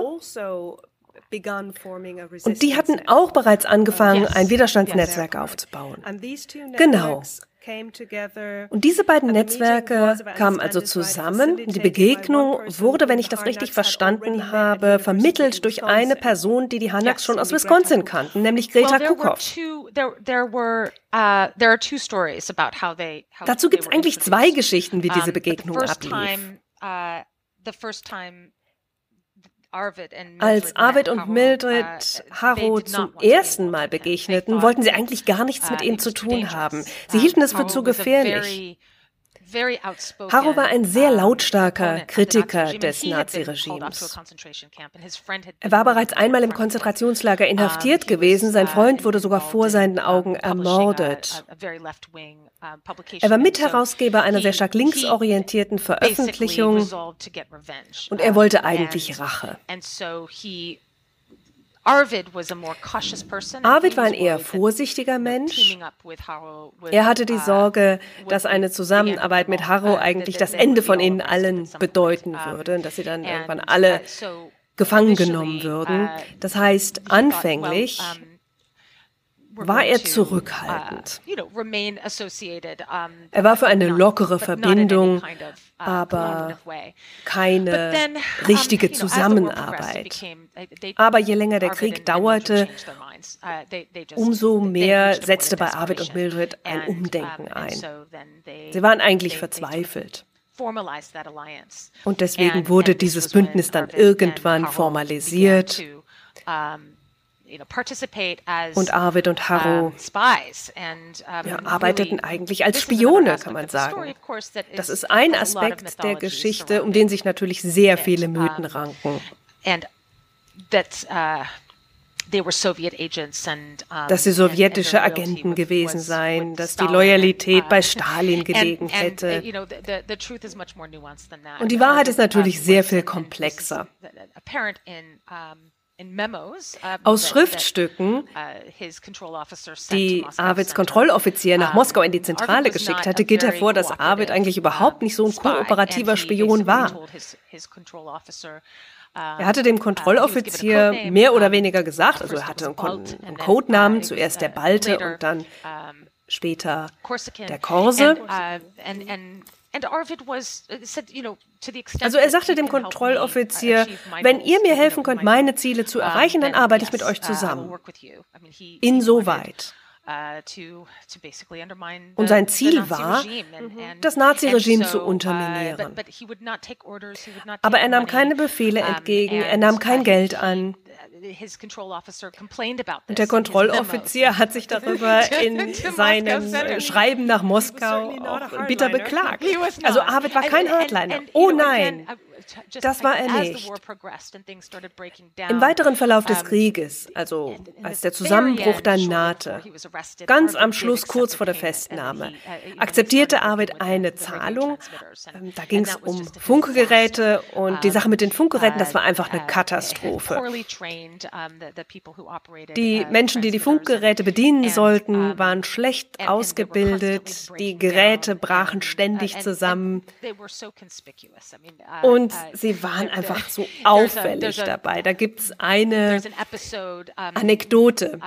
Und die hatten auch bereits angefangen, ein Widerstandsnetzwerk aufzubauen. Genau. Und diese beiden Netzwerke kamen also zusammen. Die Begegnung wurde, wenn ich das richtig verstanden habe, vermittelt durch eine Person, die Harnacks schon aus Wisconsin kannten, nämlich Greta Kukow. Dazu gibt es eigentlich 2 Geschichten, wie diese Begegnung ablief. Als Arvid und Mildred Harro zum ersten Mal begegneten, wollten sie eigentlich gar nichts mit ihm zu tun haben. Sie hielten es für zu gefährlich. Harro war ein sehr lautstarker Kritiker des Naziregimes. Er war bereits einmal im Konzentrationslager inhaftiert gewesen. Sein Freund wurde sogar vor seinen Augen ermordet. Er war Mitherausgeber einer sehr stark linksorientierten Veröffentlichung und er wollte eigentlich Rache. Arvid was a more cautious person. Arvid war ein eher vorsichtiger Mensch. Er hatte die Sorge, dass eine Zusammenarbeit mit Harrow eigentlich das Ende von ihnen allen bedeuten würde, dass sie dann irgendwann alle gefangen genommen würden. Das heißt, anfänglich war er zurückhaltend. Er war für eine lockere Verbindung, aber keine richtige Zusammenarbeit. Aber je länger der Krieg dauerte, umso mehr setzte bei Arvid und Mildred ein Umdenken ein. Sie waren eigentlich verzweifelt. Und deswegen wurde dieses Bündnis dann irgendwann formalisiert. Und Arvid und Harrow arbeiteten eigentlich als Spione, kann man sagen. Das ist ein Aspekt der Geschichte, um den sich natürlich sehr viele Mythen ranken. Dass sie sowjetische Agenten gewesen seien, dass die Loyalität bei Stalin gelegen hätte. Und die Wahrheit ist natürlich sehr viel komplexer. Aus Schriftstücken, die Arvids Kontrolloffizier nach Moskau in die Zentrale geschickt hatte, geht hervor, dass Arvid eigentlich überhaupt nicht so ein kooperativer Spion war. Er hatte dem Kontrolloffizier mehr oder weniger gesagt, also er hatte einen Codenamen, zuerst der Balte und dann später der Korse. Also er sagte dem Kontrolloffizier, wenn ihr mir helfen könnt, meine Ziele zu erreichen, dann arbeite ich mit euch zusammen. Insoweit. Und sein Ziel war, das Naziregime zu unterminieren. Aber er nahm keine Befehle entgegen, er nahm kein Geld an. Und der Kontrolloffizier hat sich darüber in seinem Schreiben nach Moskau auch bitter beklagt. Also Arvid war kein Hardliner. Oh nein, das war er nicht. Im weiteren Verlauf des Krieges, also als der Zusammenbruch dann nahte, ganz am Schluss, kurz vor der Festnahme, akzeptierte Arvid eine Zahlung. Da ging es um Funkgeräte und die Sache mit den Funkgeräten, das war einfach eine Katastrophe. Die Menschen, die die Funkgeräte bedienen sollten, waren schlecht ausgebildet, die Geräte brachen ständig zusammen und sie waren einfach so auffällig dabei. Da gibt es eine Anekdote.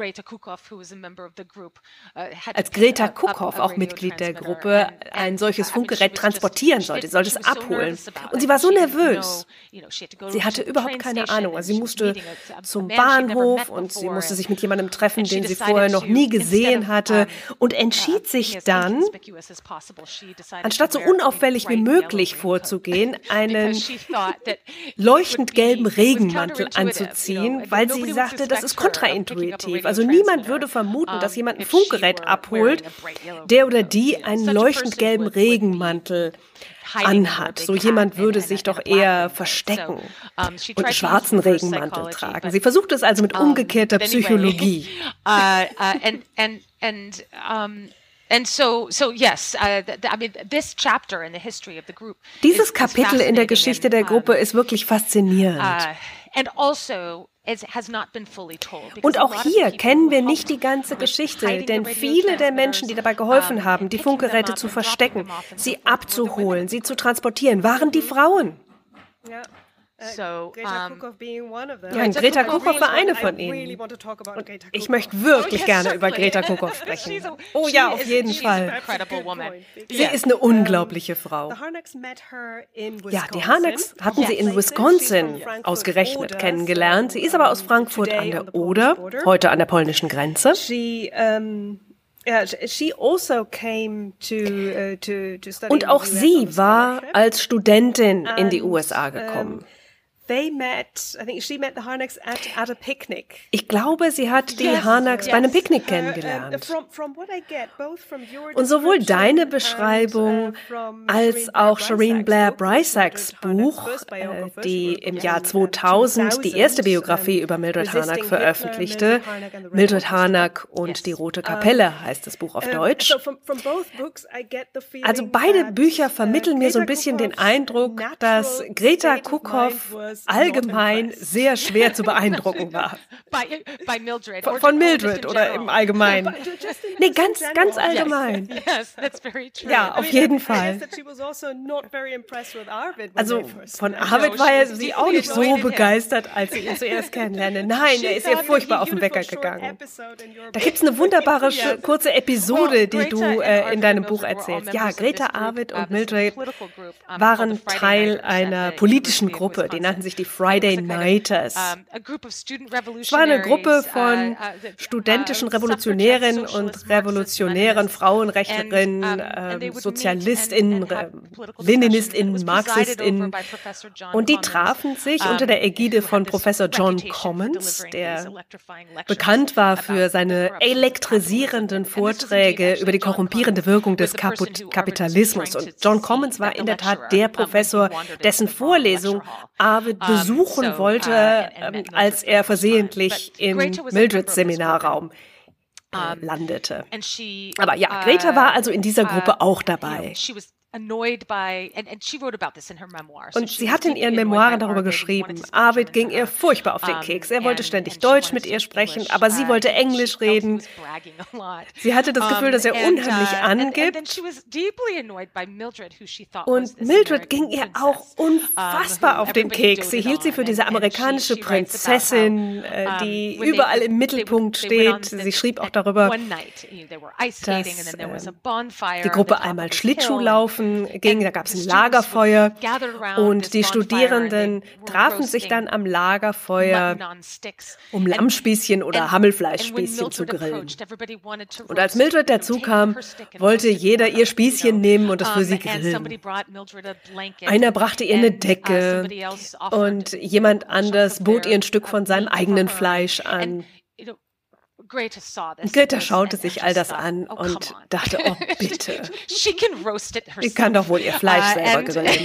Als Greta Kukow, auch Mitglied der Gruppe, ein solches Funkgerät transportieren sollte, sie sollte es abholen. Und sie war so nervös. Sie hatte überhaupt keine Ahnung. Also sie musste zum Bahnhof und sie musste sich mit jemandem treffen, den sie vorher noch nie gesehen hatte und entschied sich dann, anstatt so unauffällig wie möglich vorzugehen, einen leuchtend gelben Regenmantel anzuziehen, weil sie sagte, das ist kontraintuitiv. Also niemand würde vermuten, dass jemand ein Funkgerät abholt, der oder die einen leuchtend gelben Regenmantel anhat. So jemand würde sich doch eher verstecken und einen schwarzen Regenmantel tragen. Sie versucht es also mit umgekehrter Psychologie. Dieses Kapitel in der Geschichte der Gruppe ist wirklich faszinierend. Und auch hier kennen wir nicht die ganze Geschichte, denn viele der Menschen, die dabei geholfen haben, die Funkgeräte zu verstecken, sie abzuholen, sie zu transportieren, waren die Frauen. Ja. Greta Kukow war eine von ihnen. Und ich möchte wirklich gerne über Greta Kukow sprechen. Oh ja, auf jeden Fall. Sie ist eine unglaubliche Frau. Ja, die Harnacks hatten sie in Wisconsin ausgerechnet kennengelernt. Sie ist aber aus Frankfurt an der Oder, heute an der polnischen Grenze. Und auch sie war als Studentin in die USA gekommen. Ich glaube, sie hat die Harnacks bei einem Picknick kennengelernt. Und sowohl deine Beschreibung als auch Shireen Blair Breisacks Buch, die im Jahr 2000 die erste Biografie über Mildred Harnack veröffentlichte, Mildred Harnack und die Rote Kapelle heißt das Buch auf Deutsch. Also beide Bücher vermitteln mir so ein bisschen den Eindruck, dass Greta Kukow allgemein sehr schwer zu beeindrucken war. By Mildred. Von Mildred oder im Allgemeinen. Nee, ganz allgemein. Yes, that's very true. Ja, auf jeden Fall. Also von Arvid war sie auch nicht so begeistert, als sie ihn zuerst kennenlernte. Nein, er ist ihr furchtbar auf den Wecker gegangen. Da gibt es eine wunderbare kurze Episode, die du in deinem Buch erzählst. Ja, Greta, Arvid und Mildred waren Teil einer politischen Gruppe, die nannten sich die Friday Nighters. Es war eine Gruppe von studentischen Revolutionärinnen und revolutionären Frauenrechtlerinnen, SozialistInnen, LeninistInnen, MarxistInnen. Und die trafen sich unter der Ägide von Professor John Commons, der bekannt war für seine elektrisierenden Vorträge über die korrumpierende Wirkung des Kapitalismus. Und John Commons war in der Tat der Professor, dessen Vorlesung Arvid besuchen wollte, als er versehentlich im Mildreds Seminarraum landete. Aber ja, Greta war also in dieser Gruppe auch dabei. Und sie hat in ihren Memoiren darüber geschrieben, Arvid ging ihr furchtbar auf den Keks. Er wollte ständig Deutsch mit ihr sprechen, aber sie wollte Englisch reden. Sie hatte das Gefühl, dass er unheimlich angibt. Und Mildred ging ihr auch unfassbar auf den Keks. Sie hielt sie für diese amerikanische Prinzessin, die überall im Mittelpunkt steht. Sie schrieb auch darüber, dass die Gruppe einmal Schlittschuh laufen ging, da gab es ein Lagerfeuer und die Studierenden trafen sich dann am Lagerfeuer, um Lammspießchen oder Hammelfleischspießchen zu grillen. Und als Mildred dazu kam, wollte jeder ihr Spießchen nehmen und es für sie grillen. Einer brachte ihr eine Decke und jemand anders bot ihr ein Stück von seinem eigenen Fleisch an. Greta schaute sich all das an und dachte, oh bitte, sie kann doch wohl ihr Fleisch selber grillen.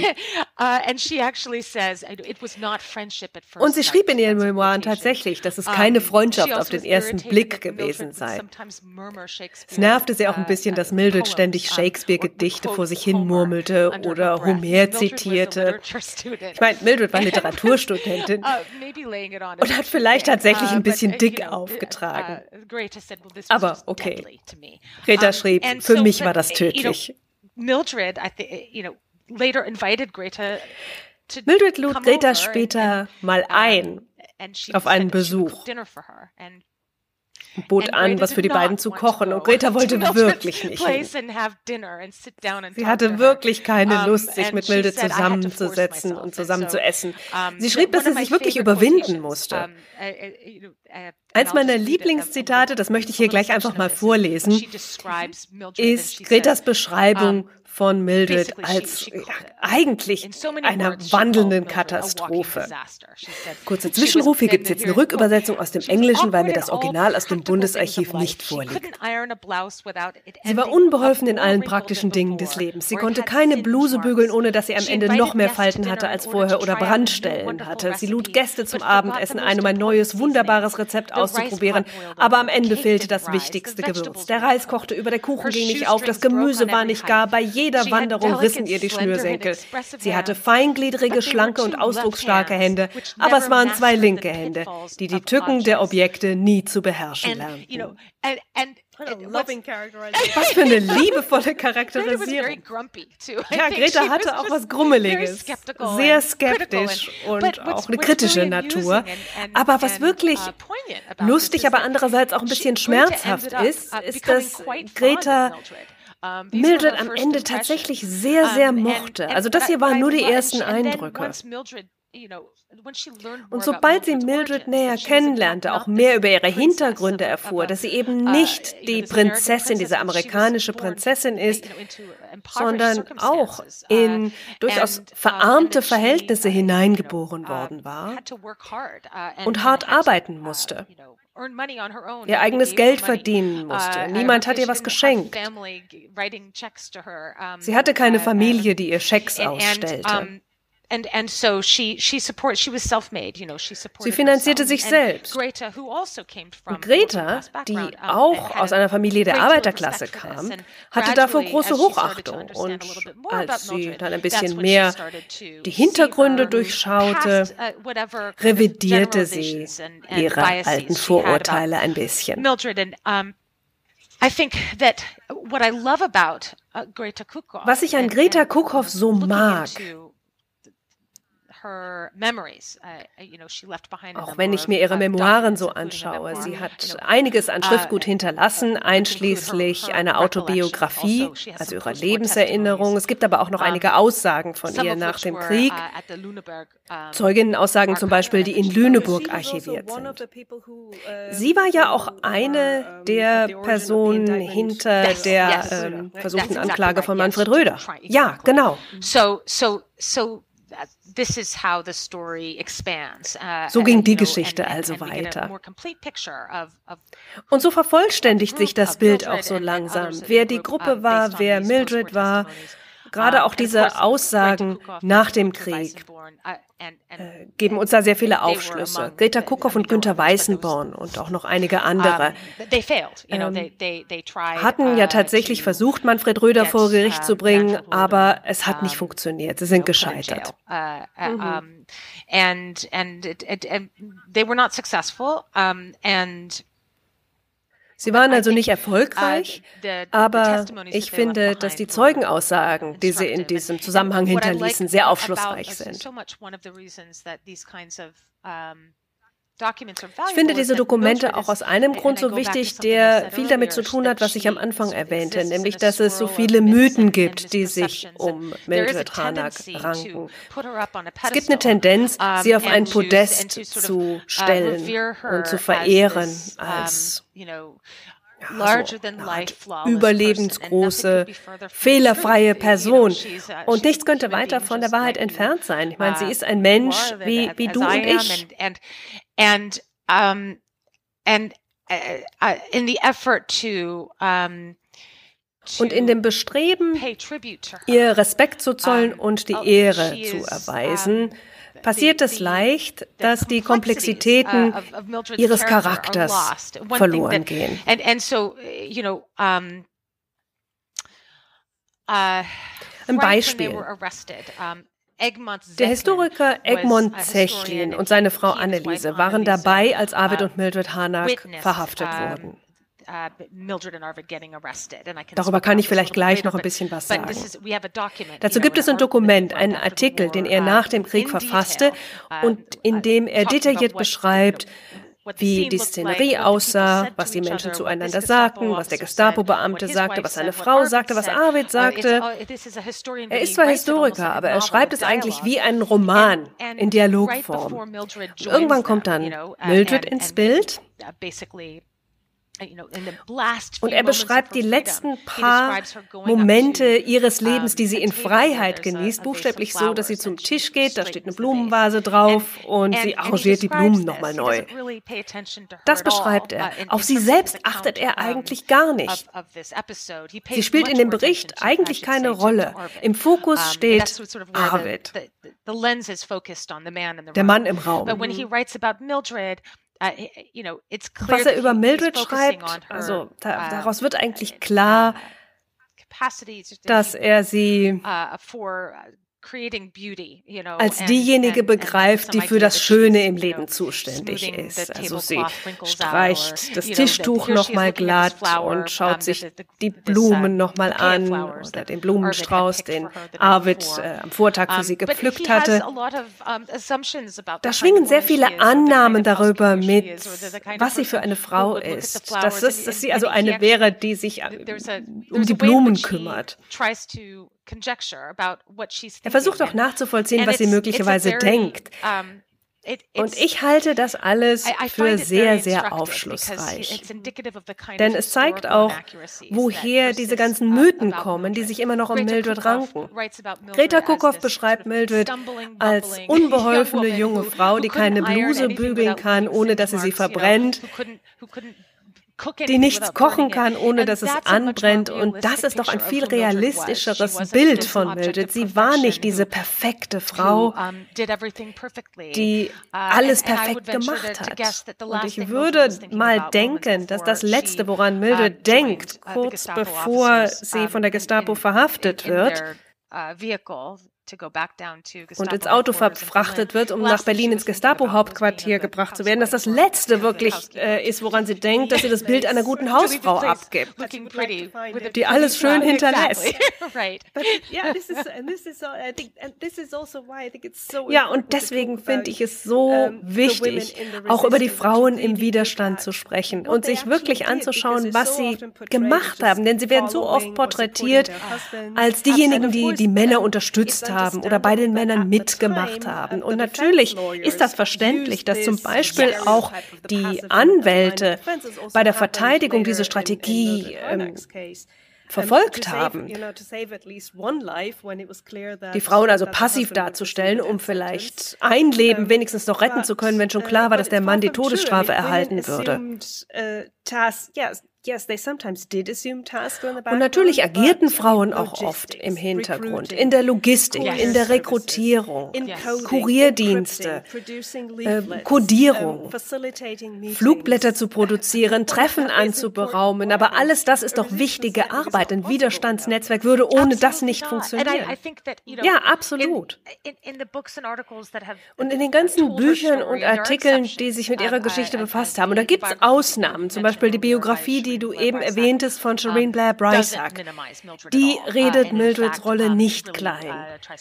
Und sie schrieb in ihren Memoiren tatsächlich, dass es keine Freundschaft auf den ersten Blick gewesen sei. Es nervte sie auch ein bisschen, dass Mildred ständig Shakespeare-Gedichte vor sich hin murmelte oder Homer zitierte. Ich meine, Mildred war Literaturstudentin und hat vielleicht tatsächlich ein bisschen dick aufgetragen. Aber okay. Greta schrieb, für mich war das tödlich. Mildred lud Greta später mal ein auf einen Besuch. Bot an, was für die beiden zu kochen, und Greta wollte wirklich nicht hin. Sie hatte wirklich keine Lust, sich mit Mildred zusammenzusetzen und zusammen zu essen. Sie schrieb, dass sie sich wirklich überwinden musste. Eins meiner Lieblingszitate, das möchte ich hier gleich einfach mal vorlesen, ist Gretas Beschreibung von Mildred als eigentlich einer wandelnden Katastrophe. Kurzer Zwischenruf, hier gibt es jetzt eine Rückübersetzung aus dem Englischen, weil mir das Original aus dem Bundesarchiv nicht vorliegt. Sie war unbeholfen in allen praktischen Dingen des Lebens. Sie konnte keine Bluse bügeln, ohne dass sie am Ende noch mehr Falten hatte als vorher oder Brandstellen hatte. Sie lud Gäste zum Abendessen ein, um ein neues, wunderbares Rezept auszuprobieren, aber am Ende fehlte das wichtigste Gewürz. Der Reis kochte über, der Kuchen ging nicht auf, das Gemüse war nicht gar, bei jeder Wanderung rissen ihr die Schnürsenkel. Sie hatte feingliedrige, schlanke und ausdrucksstarke Hände, aber es waren zwei linke Hände, die die Tücken der Objekte nie zu beherrschen lernten. Was für eine liebevolle Charakterisierung. Ja, Greta hatte auch was Grummeliges, sehr skeptisch und auch eine kritische Natur. Aber was wirklich lustig, aber andererseits auch ein bisschen schmerzhaft ist, dass Greta Mildred am Ende tatsächlich sehr, sehr mochte. Also das hier waren nur die ersten Eindrücke. Und sobald sie Mildred näher kennenlernte, auch mehr über ihre Hintergründe erfuhr, dass sie eben nicht die Prinzessin, diese amerikanische Prinzessin ist, sondern auch in durchaus verarmte Verhältnisse hineingeboren worden war und hart arbeiten musste. Ihr eigenes Geld verdienen musste. Niemand hat ihr was geschenkt. Sie hatte keine Familie, die ihr Schecks ausstellte. and so she was self-made, she supported Sie finanzierte herself. sich And selbst. Greta, who also came from Und Greta, die auch aus einer Familie der Arbeiterklasse kam, hatte davor große Hochachtung. Und als sie dann ein bisschen mehr die Hintergründe durchschaute, revidierte sie ihre alten Vorurteile ein bisschen. Mildred, and I think that what I love about Greta Cookhoff, Was ich an Greta Cookhoff so mag, auch wenn ich mir ihre Memoiren so anschaue, sie hat einiges an Schriftgut hinterlassen, einschließlich einer Autobiografie, also ihrer Lebenserinnerung. Es gibt aber auch noch einige Aussagen von ihr nach dem Krieg, Zeuginnenaussagen zum Beispiel, die in Lüneburg archiviert sind. Sie war ja auch eine der Personen hinter der versuchten Anklage von Manfred Röder. Ja, genau. So ging die Geschichte also weiter. Und so vervollständigt sich das Bild auch so langsam. Wer die Gruppe war, wer Mildred war, gerade auch diese Aussagen nach dem Krieg geben uns da sehr viele Aufschlüsse. Greta Cookhoff und Günter Weißenborn und auch noch einige andere hatten ja tatsächlich versucht, Manfred Röder vor Gericht zu bringen, aber es hat nicht funktioniert. Sie sind gescheitert. And they were not successful, and Sie waren also nicht erfolgreich, aber ich finde, dass die Zeugenaussagen, die sie in diesem Zusammenhang hinterließen, sehr aufschlussreich sind. Ich finde diese Dokumente auch aus einem Grund so wichtig, der viel damit zu tun hat, was ich am Anfang erwähnte, nämlich, dass es so viele Mythen gibt, die sich um Mildred Harnack ranken. Es gibt eine Tendenz, sie auf ein Podest zu stellen und zu verehren als überlebensgroße, fehlerfreie Person. Und nichts könnte weiter von der Wahrheit entfernt sein. Ich meine, sie ist ein Mensch wie du und ich. And in the effort to und in dem Bestreben, ihr Respekt zu zollen und die Ehre zu erweisen, passiert es leicht, dass die Komplexitäten ihres Charakters verloren gehen. Ein Beispiel. Der Historiker Egmont Zechlin und seine Frau Anneliese waren dabei, als Arvid und Mildred Harnack verhaftet wurden. Darüber kann ich vielleicht gleich noch ein bisschen was sagen. Dazu gibt es ein Dokument, einen Artikel, den er nach dem Krieg verfasste und in dem er detailliert beschreibt, wie die Szenerie aussah, was die Menschen zueinander sagten, was der Gestapo-Beamte sagte, was seine Frau sagte, was Arvid sagte. Er ist zwar Historiker, aber er schreibt es eigentlich wie einen Roman in Dialogform. Und irgendwann kommt dann Mildred ins Bild. Und er beschreibt die letzten paar Momente ihres Lebens, die sie in Freiheit genießt, buchstäblich so, dass sie zum Tisch geht, da steht eine Blumenvase drauf und sie arrangiert die Blumen nochmal neu. Das beschreibt er. Auf sie selbst achtet er eigentlich gar nicht. Sie spielt in dem Bericht eigentlich keine Rolle. Im Fokus steht Arvid, der Mann im Raum. Was er über Mildred schreibt, also daraus wird eigentlich klar, dass er sie als diejenige begreift, die für das Schöne im Leben zuständig ist. Also sie streicht das Tischtuch nochmal glatt und schaut sich die Blumen nochmal an oder den Blumenstrauß, den Arvid am Vortag für sie gepflückt hatte. Da schwingen sehr viele Annahmen darüber mit, was sie für eine Frau ist. Dass sie also eine wäre, die sich um die Blumen kümmert. Er versucht auch nachzuvollziehen, was sie möglicherweise denkt. Und ich halte das alles für sehr, sehr aufschlussreich. Denn es zeigt auch, woher diese ganzen Mythen kommen, die sich immer noch um Mildred ranken. Greta Cookhoff beschreibt Mildred als unbeholfene junge Frau, die keine Bluse bügeln kann, ohne dass sie verbrennt. die nichts kochen kann, ohne dass es anbrennt. Und das ist doch ein viel realistischeres Bild von Mildred. Sie war nicht diese perfekte Frau, die alles perfekt gemacht hat. Und ich würde mal denken, dass das Letzte, woran Mildred denkt, kurz bevor sie von der Gestapo verhaftet wird, und ins Auto verfrachtet wird, um nach Berlin ins Gestapo-Hauptquartier gebracht zu werden, dass das Letzte wirklich ist, woran sie denkt, dass sie das Bild einer guten Hausfrau abgibt, die alles schön hinterlässt. Ja, und deswegen finde ich es so wichtig, auch über die Frauen im Widerstand zu sprechen und sich wirklich anzuschauen, was sie gemacht haben. Denn sie werden so oft porträtiert als diejenigen, die die Männer unterstützt haben oder bei den Männern mitgemacht haben. Und natürlich ist das verständlich, dass zum Beispiel auch die Anwälte bei der Verteidigung diese Strategie verfolgt haben, die Frauen also passiv darzustellen, um vielleicht ein Leben wenigstens noch retten zu können, wenn schon klar war, dass der Mann die Todesstrafe erhalten würde. Und natürlich agierten Frauen auch oft im Hintergrund, in der Logistik, in der Rekrutierung, Kurierdienste, Kodierung, Flugblätter zu produzieren, Treffen anzuberaumen. Aber alles das ist doch wichtige Arbeit. Ein Widerstandsnetzwerk würde ohne das nicht funktionieren. Ja, absolut. Und in den ganzen Büchern und Artikeln, die sich mit ihrer Geschichte befasst haben, und da gibt es Ausnahmen, zum Beispiel die Biografie, die du eben erwähntest von Shireen Blair Brysack, die redet Mildreds Rolle nicht klein.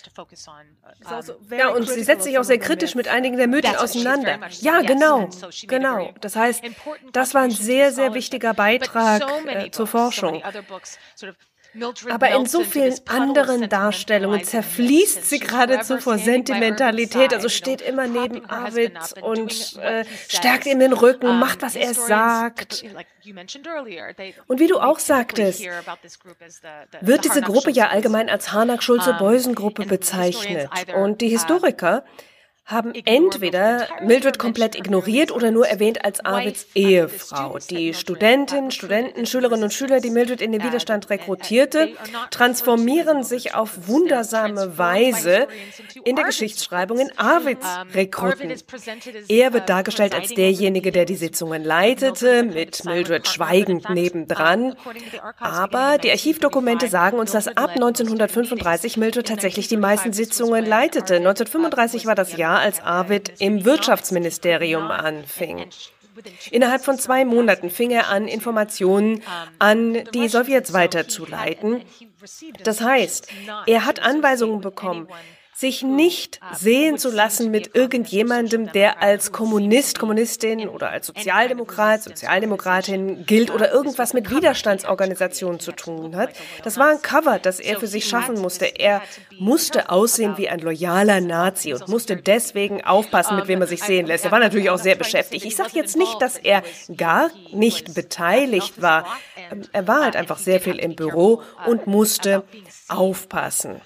Ja, und sie setzt sich auch sehr kritisch mit einigen der Mythen auseinander. Ja, genau. Das heißt, das war ein sehr, sehr wichtiger Beitrag zur Forschung. Aber in so vielen anderen Darstellungen zerfließt sie geradezu vor Sentimentalität. Also steht immer neben Arvid und stärkt ihm den Rücken, macht, was er sagt. Und wie du auch sagtest, wird diese Gruppe ja allgemein als Harnack-Schulze-Beusen-Gruppe bezeichnet. Und die Historiker haben entweder Mildred komplett ignoriert oder nur erwähnt als Arvids Ehefrau. Die Studentinnen, Studenten, Schülerinnen und Schüler, die Mildred in den Widerstand rekrutierte, transformieren sich auf wundersame Weise in der Geschichtsschreibung in Arvids Rekruten. Er wird dargestellt als derjenige, der die Sitzungen leitete, mit Mildred schweigend nebendran. Aber die Archivdokumente sagen uns, dass ab 1935 Mildred tatsächlich die meisten Sitzungen leitete. 1935 war das Jahr, als Arvid im Wirtschaftsministerium anfing. Innerhalb von 2 Monaten fing er an, Informationen an die Sowjets weiterzuleiten. Das heißt, er hat Anweisungen bekommen, sich nicht sehen zu lassen mit irgendjemandem, der als Kommunist, Kommunistin oder als Sozialdemokrat, Sozialdemokratin gilt oder irgendwas mit Widerstandsorganisationen zu tun hat. Das war ein Cover, das er für sich schaffen musste. Er musste aussehen wie ein loyaler Nazi und musste deswegen aufpassen, mit wem er sich sehen lässt. Er war natürlich auch sehr beschäftigt. Ich sage jetzt nicht, dass er gar nicht beteiligt war. Er war halt einfach sehr viel im Büro und musste aufpassen.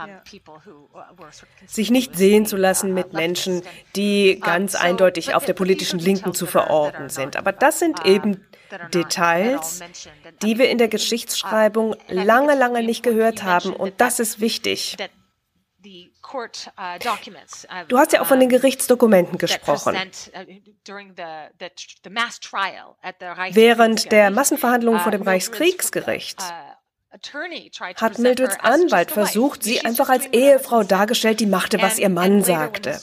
Sich nicht sehen zu lassen mit Menschen, die ganz eindeutig auf der politischen Linken zu verorten sind. Aber das sind eben Details, die wir in der Geschichtsschreibung lange, lange nicht gehört haben. Und das ist wichtig. Du hast ja auch von den Gerichtsdokumenten gesprochen. Während der Massenverhandlungen vor dem Reichskriegsgericht hat Mildreds Anwalt versucht, sie einfach als Ehefrau dargestellt, die machte, was ihr Mann sagte.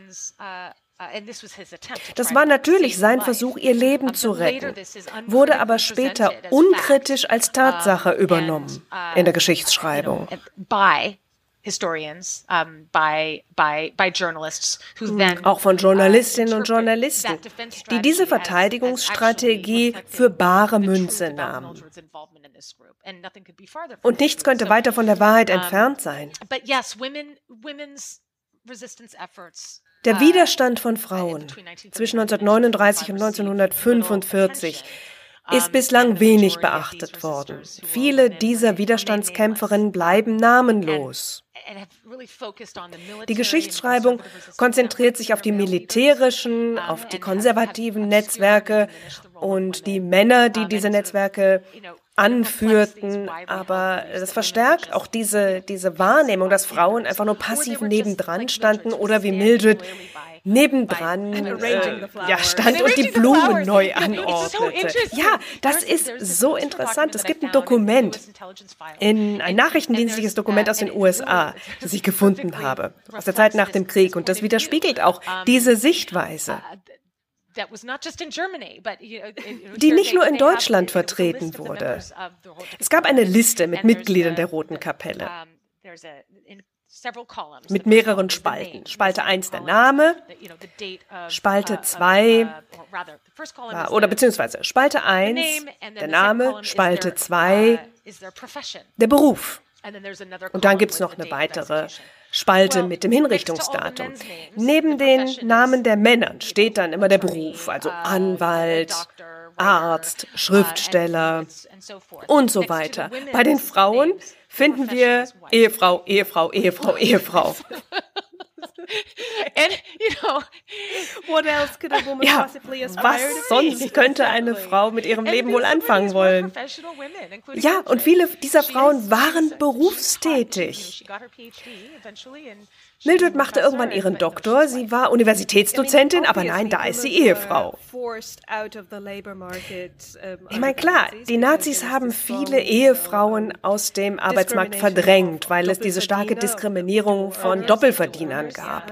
Das war natürlich sein Versuch, ihr Leben zu retten, wurde aber später unkritisch als Tatsache übernommen in der Geschichtsschreibung. Auch von Journalistinnen und Journalisten, die diese Verteidigungsstrategie für bare Münze nahmen. Und nichts könnte weiter von der Wahrheit entfernt sein. Der Widerstand von Frauen zwischen 1939 und 1945 ist bislang wenig beachtet worden. Viele dieser Widerstandskämpferinnen bleiben namenlos. Die Geschichtsschreibung konzentriert sich auf die militärischen, auf die konservativen Netzwerke und die Männer, die diese Netzwerke anführten, aber das verstärkt auch diese Wahrnehmung, dass Frauen einfach nur passiv nebendran standen oder wie Mildred nebendran stand und die Blumen neu anordnete. Ja, das ist so interessant. Es gibt ein Dokument, ein nachrichtendienstliches Dokument aus den USA, das ich gefunden habe, aus der Zeit nach dem Krieg, und das widerspiegelt auch diese Sichtweise, die nicht nur in Deutschland vertreten wurde. Es gab eine Liste mit Mitgliedern der Roten Kapelle mit mehreren Spalten. Spalte 1 der Name, Spalte 2, oder beziehungsweise Spalte 1 der Name, Spalte 2 der Beruf. Und dann gibt es noch eine weitere Spalte mit dem Hinrichtungsdatum. Neben den Namen der Männer steht dann immer der Beruf, also Anwalt, Arzt, Schriftsteller und so weiter. Bei den Frauen finden wir Ehefrau, Ehefrau, Ehefrau, Ehefrau. Ja, was sonst könnte eine Frau mit ihrem Leben wohl anfangen wollen? Ja, und viele dieser Frauen waren berufstätig. Mildred machte irgendwann ihren Doktor, sie war Universitätsdozentin, aber nein, da ist sie Ehefrau. Ich meine, klar, die Nazis haben viele Ehefrauen aus dem Arbeitsmarkt verdrängt, weil es diese starke Diskriminierung von Doppelverdienern gab.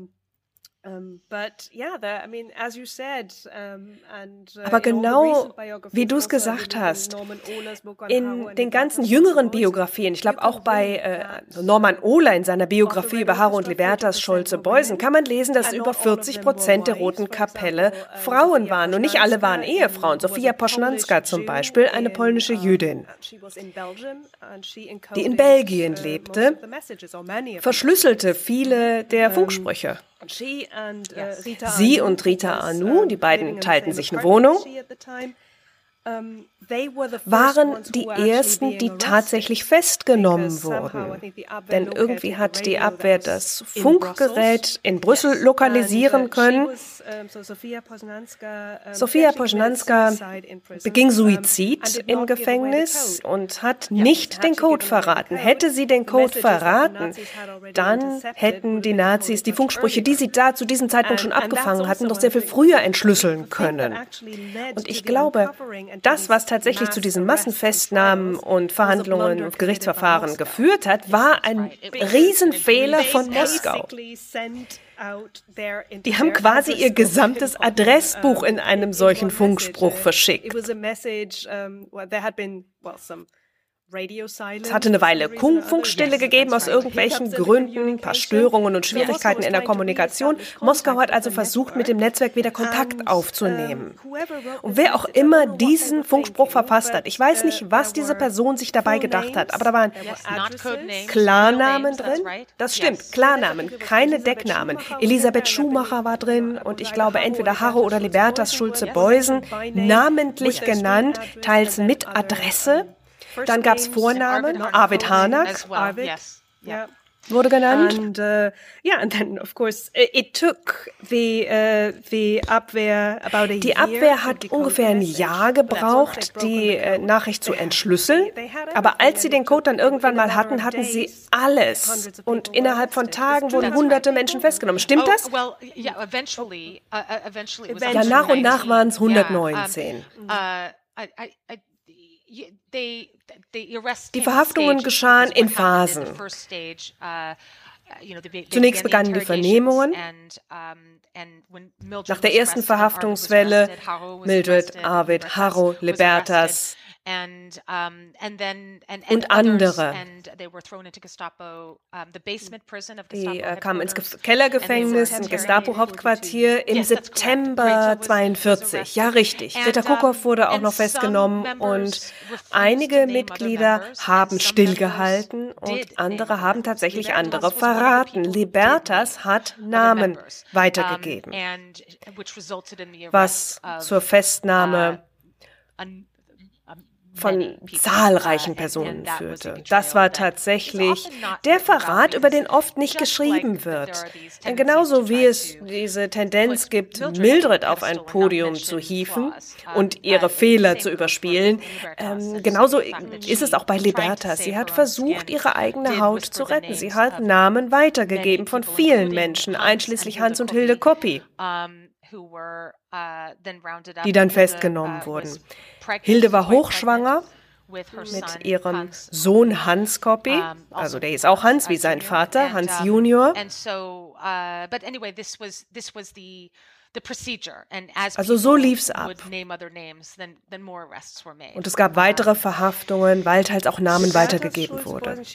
Aber genau wie du es gesagt hast, in den ganzen jüngeren Biografien, ich glaube auch bei Norman Ohler in seiner Biografie über Haro und Libertas Schulze-Beusen, kann man lesen, dass über 40% der Roten Kapelle Frauen waren. Und nicht alle waren Ehefrauen. Sofia Poschnanska zum Beispiel, eine polnische Jüdin, die in Belgien lebte, verschlüsselte viele der Funksprüche. Sie und Rita Anu, die beiden teilten sich eine Wohnung, waren die ersten, die tatsächlich festgenommen wurden. Denn irgendwie hat die Abwehr das Funkgerät in Brüssel lokalisieren können. Sofia Poschnanska beging Suizid im Gefängnis und hat nicht den Code verraten. Hätte sie den Code verraten, dann hätten die Nazis die Funksprüche, die sie da zu diesem Zeitpunkt schon abgefangen hatten, doch sehr viel früher entschlüsseln können. Und ich glaube, das, was tatsächlich zu diesen Massenfestnahmen und Verhandlungen und Gerichtsverfahren geführt hat, war ein Riesenfehler von Moskau. Die haben quasi ihr gesamtes Adressbuch in einem solchen Funkspruch verschickt. Es hatte eine Weile Funkstille gegeben aus irgendwelchen Gründen, ein paar Störungen und Schwierigkeiten in der Kommunikation. Moskau hat also versucht, mit dem Netzwerk wieder Kontakt aufzunehmen. Und wer auch immer diesen Funkspruch verfasst hat, ich weiß nicht, was diese Person sich dabei gedacht hat, aber da waren Klarnamen drin. Das stimmt, Klarnamen, keine Decknamen. Elisabeth Schumacher war drin und ich glaube entweder Haro oder Libertas Schulze-Beusen, namentlich genannt, teils mit Adresse. Dann gab es Vornamen, Arvid Harnack wurde genannt. And then of course it took the Abwehr about a year. Die Abwehr hat ungefähr ein Jahr gebraucht, die Nachricht zu entschlüsseln. Aber als sie den Code dann irgendwann mal hatten, hatten sie alles. Und innerhalb von Tagen wurden hunderte Menschen festgenommen. Stimmt das? Ja, nach und nach waren es 119. Die Verhaftungen geschahen in Phasen. Zunächst begannen die Vernehmungen. Nach der ersten Verhaftungswelle Mildred, Arvid, Haro, Libertas und andere. Die kamen ins Kellergefängnis, im Gestapo-Hauptquartier im September 1942. Ja, richtig. Rita Kukow wurde auch noch festgenommen und einige Mitglieder haben stillgehalten und andere haben tatsächlich andere verraten. Libertas hat Namen weitergegeben, was zur Festnahme von zahlreichen Personen führte. Das war tatsächlich der Verrat, über den oft nicht geschrieben wird. Genauso wie es diese Tendenz gibt, Mildred auf ein Podium zu hieven und ihre Fehler zu überspielen, genauso ist es auch bei Libertas. Sie hat versucht, ihre eigene Haut zu retten. Sie hat Namen weitergegeben von vielen Menschen, einschließlich Hans und Hilde Coppi, die dann festgenommen wurden. Hilde war hochschwanger mit ihrem Sohn Hans Coppi, also der ist auch Hans wie sein Vater, Hans Junior. Also so lief's ab. Und es gab weitere Verhaftungen, weil halt auch Namen weitergegeben wurden.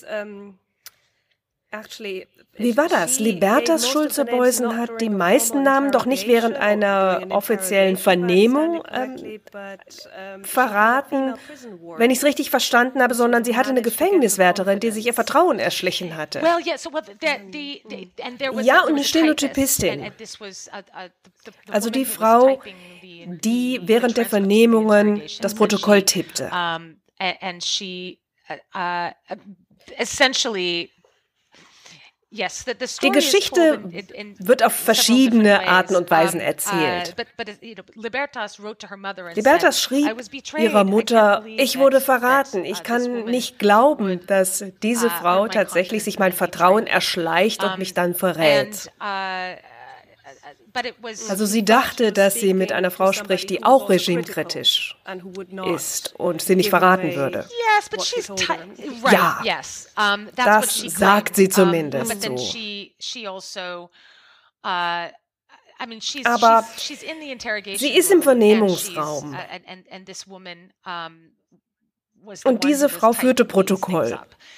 Wie war das? Libertas Schulze-Beusen hat die meisten Namen doch nicht während einer offiziellen Vernehmung verraten, wenn ich es richtig verstanden habe, sondern sie hatte eine Gefängniswärterin, die sich ihr Vertrauen erschlichen hatte. Ja, und eine Stenotypistin. Also die Frau, die während der Vernehmungen das Protokoll tippte. Die Geschichte wird auf verschiedene Arten und Weisen erzählt. Libertas schrieb ihrer Mutter, ich wurde verraten. Ich kann nicht glauben, dass diese Frau tatsächlich sich mein Vertrauen erschleicht und mich dann verrät. Also sie dachte, dass sie mit einer Frau spricht, die auch regimekritisch ist und sie nicht verraten würde. Ja, das sagt sie zumindest so. Aber sie ist im Vernehmungsraum. Und diese Frau führte Protokoll.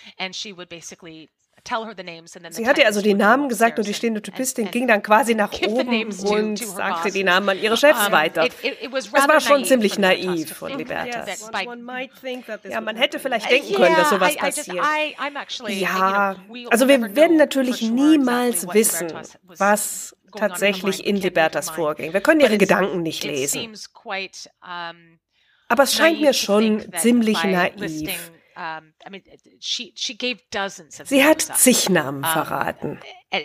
Sie hatte also die Namen gesagt und die Stenotypistin ging dann quasi nach oben und sagte die Namen an ihre Chefs weiter. Das war schon ziemlich naiv von Libertas. Ja, man hätte vielleicht denken können, dass sowas passiert. Ja, also wir werden natürlich niemals wissen, was tatsächlich in Libertas vorging. Wir können ihre Gedanken nicht lesen. Aber es scheint mir schon ziemlich naiv. Sie hat zig Namen verraten.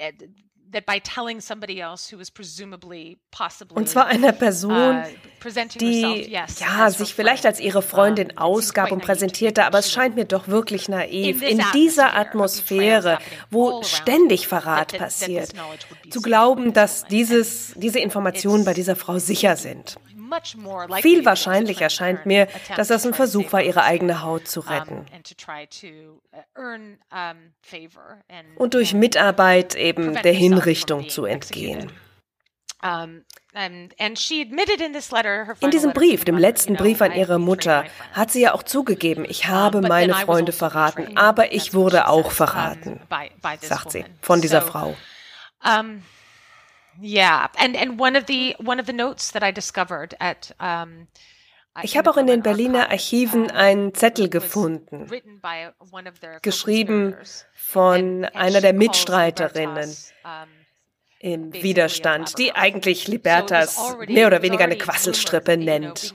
Und zwar einer Person, die sich vielleicht als ihre Freundin ausgab und präsentierte, aber es scheint mir doch wirklich naiv, in dieser Atmosphäre, wo ständig Verrat passiert, zu glauben, dass diese Informationen bei dieser Frau sicher sind. Viel wahrscheinlicher scheint mir, dass das ein Versuch war, ihre eigene Haut zu retten. Und durch Mitarbeit eben der Hinrichtung zu entgehen. In diesem Brief, dem letzten Brief an ihre Mutter, hat sie ja auch zugegeben, ich habe meine Freunde verraten, aber ich wurde auch verraten, sagt sie, von dieser Frau. Yeah, and one of the notes that I discovered at ich habe auch in den Berliner Archiven einen Zettel gefunden, geschrieben von einer der Mitstreiterinnen im Widerstand, die eigentlich Libertas mehr oder weniger eine Quasselstrippe nennt.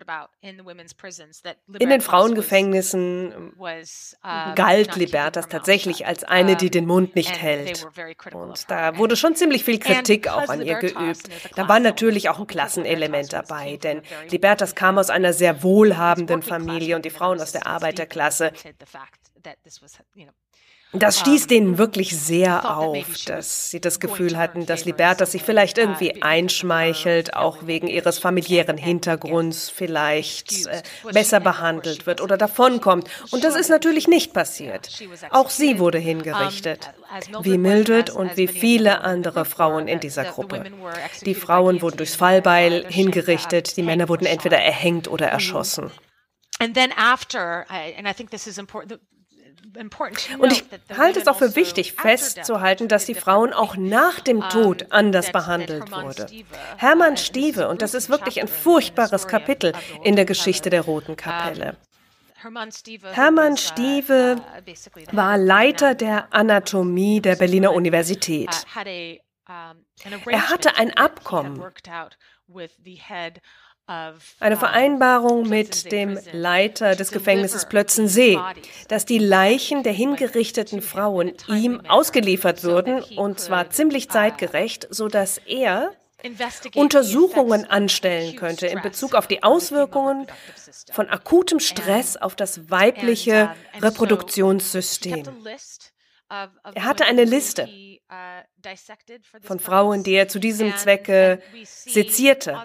In den Frauengefängnissen galt Libertas tatsächlich als eine, die den Mund nicht hält. Und da wurde schon ziemlich viel Kritik auch an ihr geübt. Da war natürlich auch ein Klassenelement dabei, denn Libertas kam aus einer sehr wohlhabenden Familie und die Frauen aus der Arbeiterklasse. Das stieß denen wirklich sehr auf, dass sie das Gefühl hatten, dass Libertas sich vielleicht irgendwie einschmeichelt, auch wegen ihres familiären Hintergrunds vielleicht besser behandelt wird oder davonkommt. Und das ist natürlich nicht passiert. Auch sie wurde hingerichtet, wie Mildred und wie viele andere Frauen in dieser Gruppe. Die Frauen wurden durchs Fallbeil hingerichtet, die Männer wurden entweder erhängt oder erschossen. Und ich halte es auch für wichtig, festzuhalten, dass die Frauen auch nach dem Tod anders behandelt wurden. Hermann Stieve, und das ist wirklich ein furchtbares Kapitel in der Geschichte der Roten Kapelle. Hermann Stieve war Leiter der Anatomie der Berliner Universität. Er hatte ein Abkommen Eine Vereinbarung mit dem Leiter des Gefängnisses Plötzensee, dass die Leichen der hingerichteten Frauen ihm ausgeliefert würden, und zwar ziemlich zeitgerecht, sodass er Untersuchungen anstellen könnte in Bezug auf die Auswirkungen von akutem Stress auf das weibliche Reproduktionssystem. Er hatte eine Liste von Frauen, die er zu diesem Zwecke sezierte.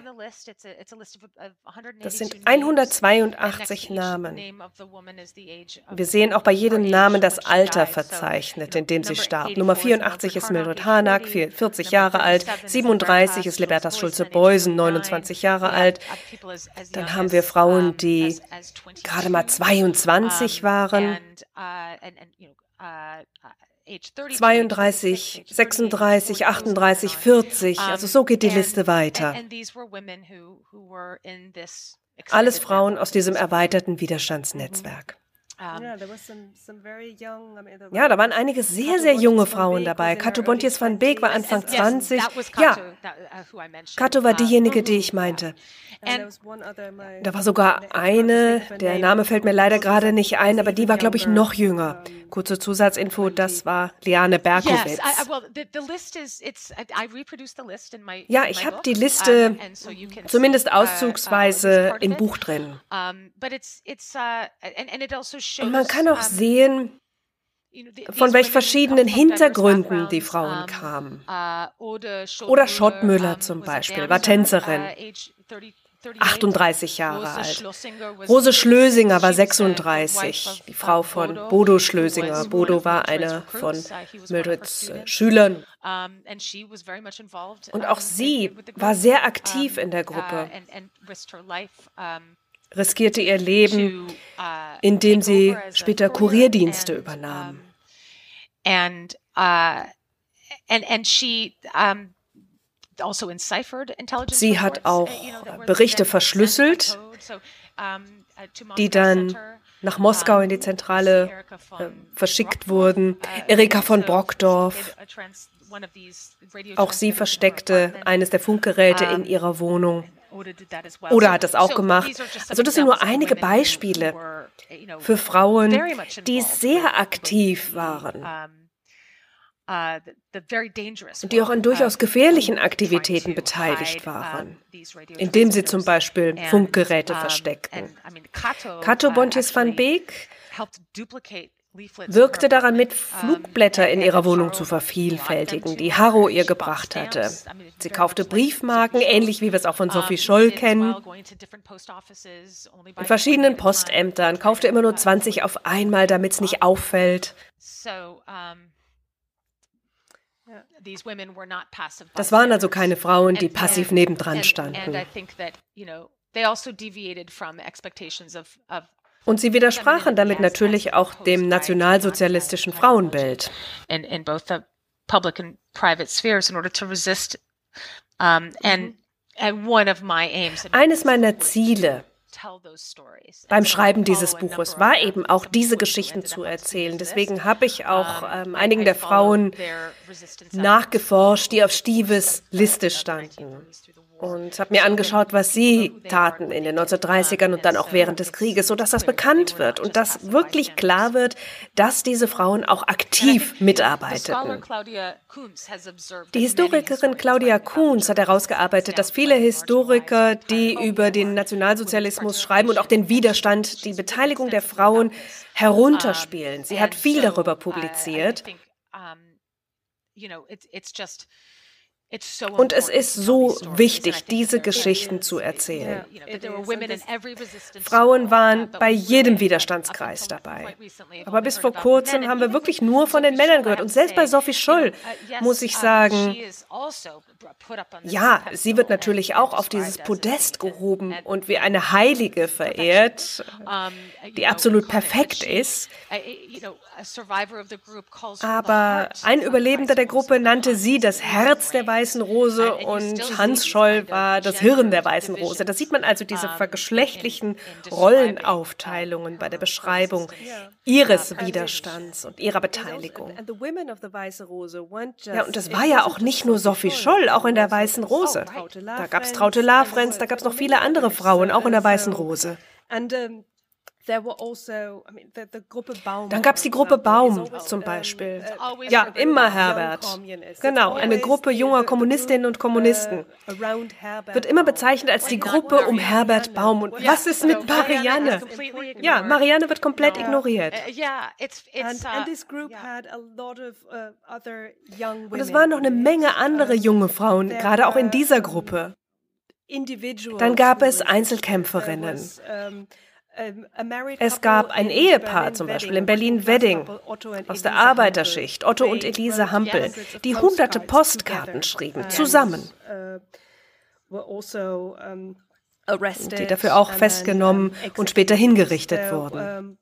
Das sind 182 Namen. Wir sehen auch bei jedem Namen das Alter verzeichnet, in dem sie starb. Nummer 84 ist Mildred Harnack, 40 Jahre alt. 37 ist Libertas Schulze-Beusen, 29 Jahre alt. Dann haben wir Frauen, die gerade mal 22 waren. 32, 36, 38, 40, also so geht die Liste weiter. Alles Frauen aus diesem erweiterten Widerstandsnetzwerk. Ja, da waren einige sehr, sehr junge Frauen dabei. Cato Bontius van Beek war Anfang 20. Ja, Cato war diejenige, die ich meinte. Da war sogar eine, der Name fällt mir leider gerade nicht ein, aber die war, glaube ich, noch jünger. Kurze Zusatzinfo, das war Liane Berkowitz. Ja, ich habe die Liste zumindest auszugsweise im Buch drin. Und man kann auch sehen, von welchen verschiedenen Hintergründen die Frauen kamen. Oder Schottmüller zum Beispiel, war Tänzerin, 38 Jahre alt. Rose Schlösinger war 36, die Frau von Bodo Schlösinger. Bodo war einer von Mildreds Schülern. Und auch sie war sehr aktiv in der Gruppe, riskierte ihr Leben, indem sie später Kurierdienste übernahm. Sie hat auch Berichte verschlüsselt, die dann nach Moskau in die Zentrale verschickt wurden. Erika von Brockdorf, auch sie versteckte eines der Funkgeräte in ihrer Wohnung. Oder hat das auch gemacht. Also das sind nur einige Beispiele für Frauen, die sehr aktiv waren und die auch an durchaus gefährlichen Aktivitäten beteiligt waren, indem sie zum Beispiel Funkgeräte versteckten. Cato Bontius van Beek wirkte daran mit, Flugblätter in ihrer Wohnung zu vervielfältigen, die Harro ihr gebracht hatte. Sie kaufte Briefmarken, ähnlich wie wir es auch von Sophie Scholl kennen, in verschiedenen Postämtern, kaufte immer nur 20 auf einmal, damit es nicht auffällt. Das waren also keine Frauen, die passiv nebendran standen. Und sie widersprachen damit natürlich auch dem nationalsozialistischen Frauenbild. In both the public and private spheres in order to resist. Eines meiner Ziele beim Schreiben dieses Buches war eben auch, diese Geschichten zu erzählen. Deswegen habe ich auch einigen der Frauen nachgeforscht, die auf Stives Liste standen. Und habe mir angeschaut, was sie taten in den 1930ern und dann auch während des Krieges, sodass das bekannt wird und dass wirklich klar wird, dass diese Frauen auch aktiv mitarbeiteten. Die Historikerin Claudia Kuhns hat herausgearbeitet, dass viele Historiker, die über den Nationalsozialismus schreiben und auch den Widerstand, die Beteiligung der Frauen herunterspielen. Sie hat viel darüber publiziert. Und es ist so wichtig, diese Geschichten zu erzählen. Frauen waren bei jedem Widerstandskreis dabei. Aber bis vor kurzem haben wir wirklich nur von den Männern gehört. Und selbst bei Sophie Scholl muss ich sagen, ja, sie wird natürlich auch auf dieses Podest gehoben und wie eine Heilige verehrt, die absolut perfekt ist. Aber ein Überlebender der Gruppe nannte sie das Herz der Weißen Rose und Hans Scholl war das Hirn der Weißen Rose. Da sieht man also diese vergeschlechtlichen Rollenaufteilungen bei der Beschreibung ihres Widerstands und ihrer Beteiligung. Ja, und das war ja auch nicht nur Sophie Scholl, auch in der Weißen Rose. Da gab es Traute Lorenz, da gab es noch viele andere Frauen, auch in der Weißen Rose. Dann gab es die Gruppe Baum zum Beispiel. Ja, immer Herbert. Genau, eine Gruppe junger Kommunistinnen und Kommunisten. Wird immer bezeichnet als die Gruppe um Herbert Baum. Und was ist mit Marianne? Ja, Marianne wird komplett ignoriert. Und es waren noch eine Menge andere junge Frauen, gerade auch in dieser Gruppe. Dann gab es Einzelkämpferinnen. Es gab ein Ehepaar, zum Beispiel in Berlin-Wedding, aus der Arbeiterschicht, Otto und Elise Hampel, die hunderte Postkarten schrieben, zusammen. Die dafür auch festgenommen und später hingerichtet wurden.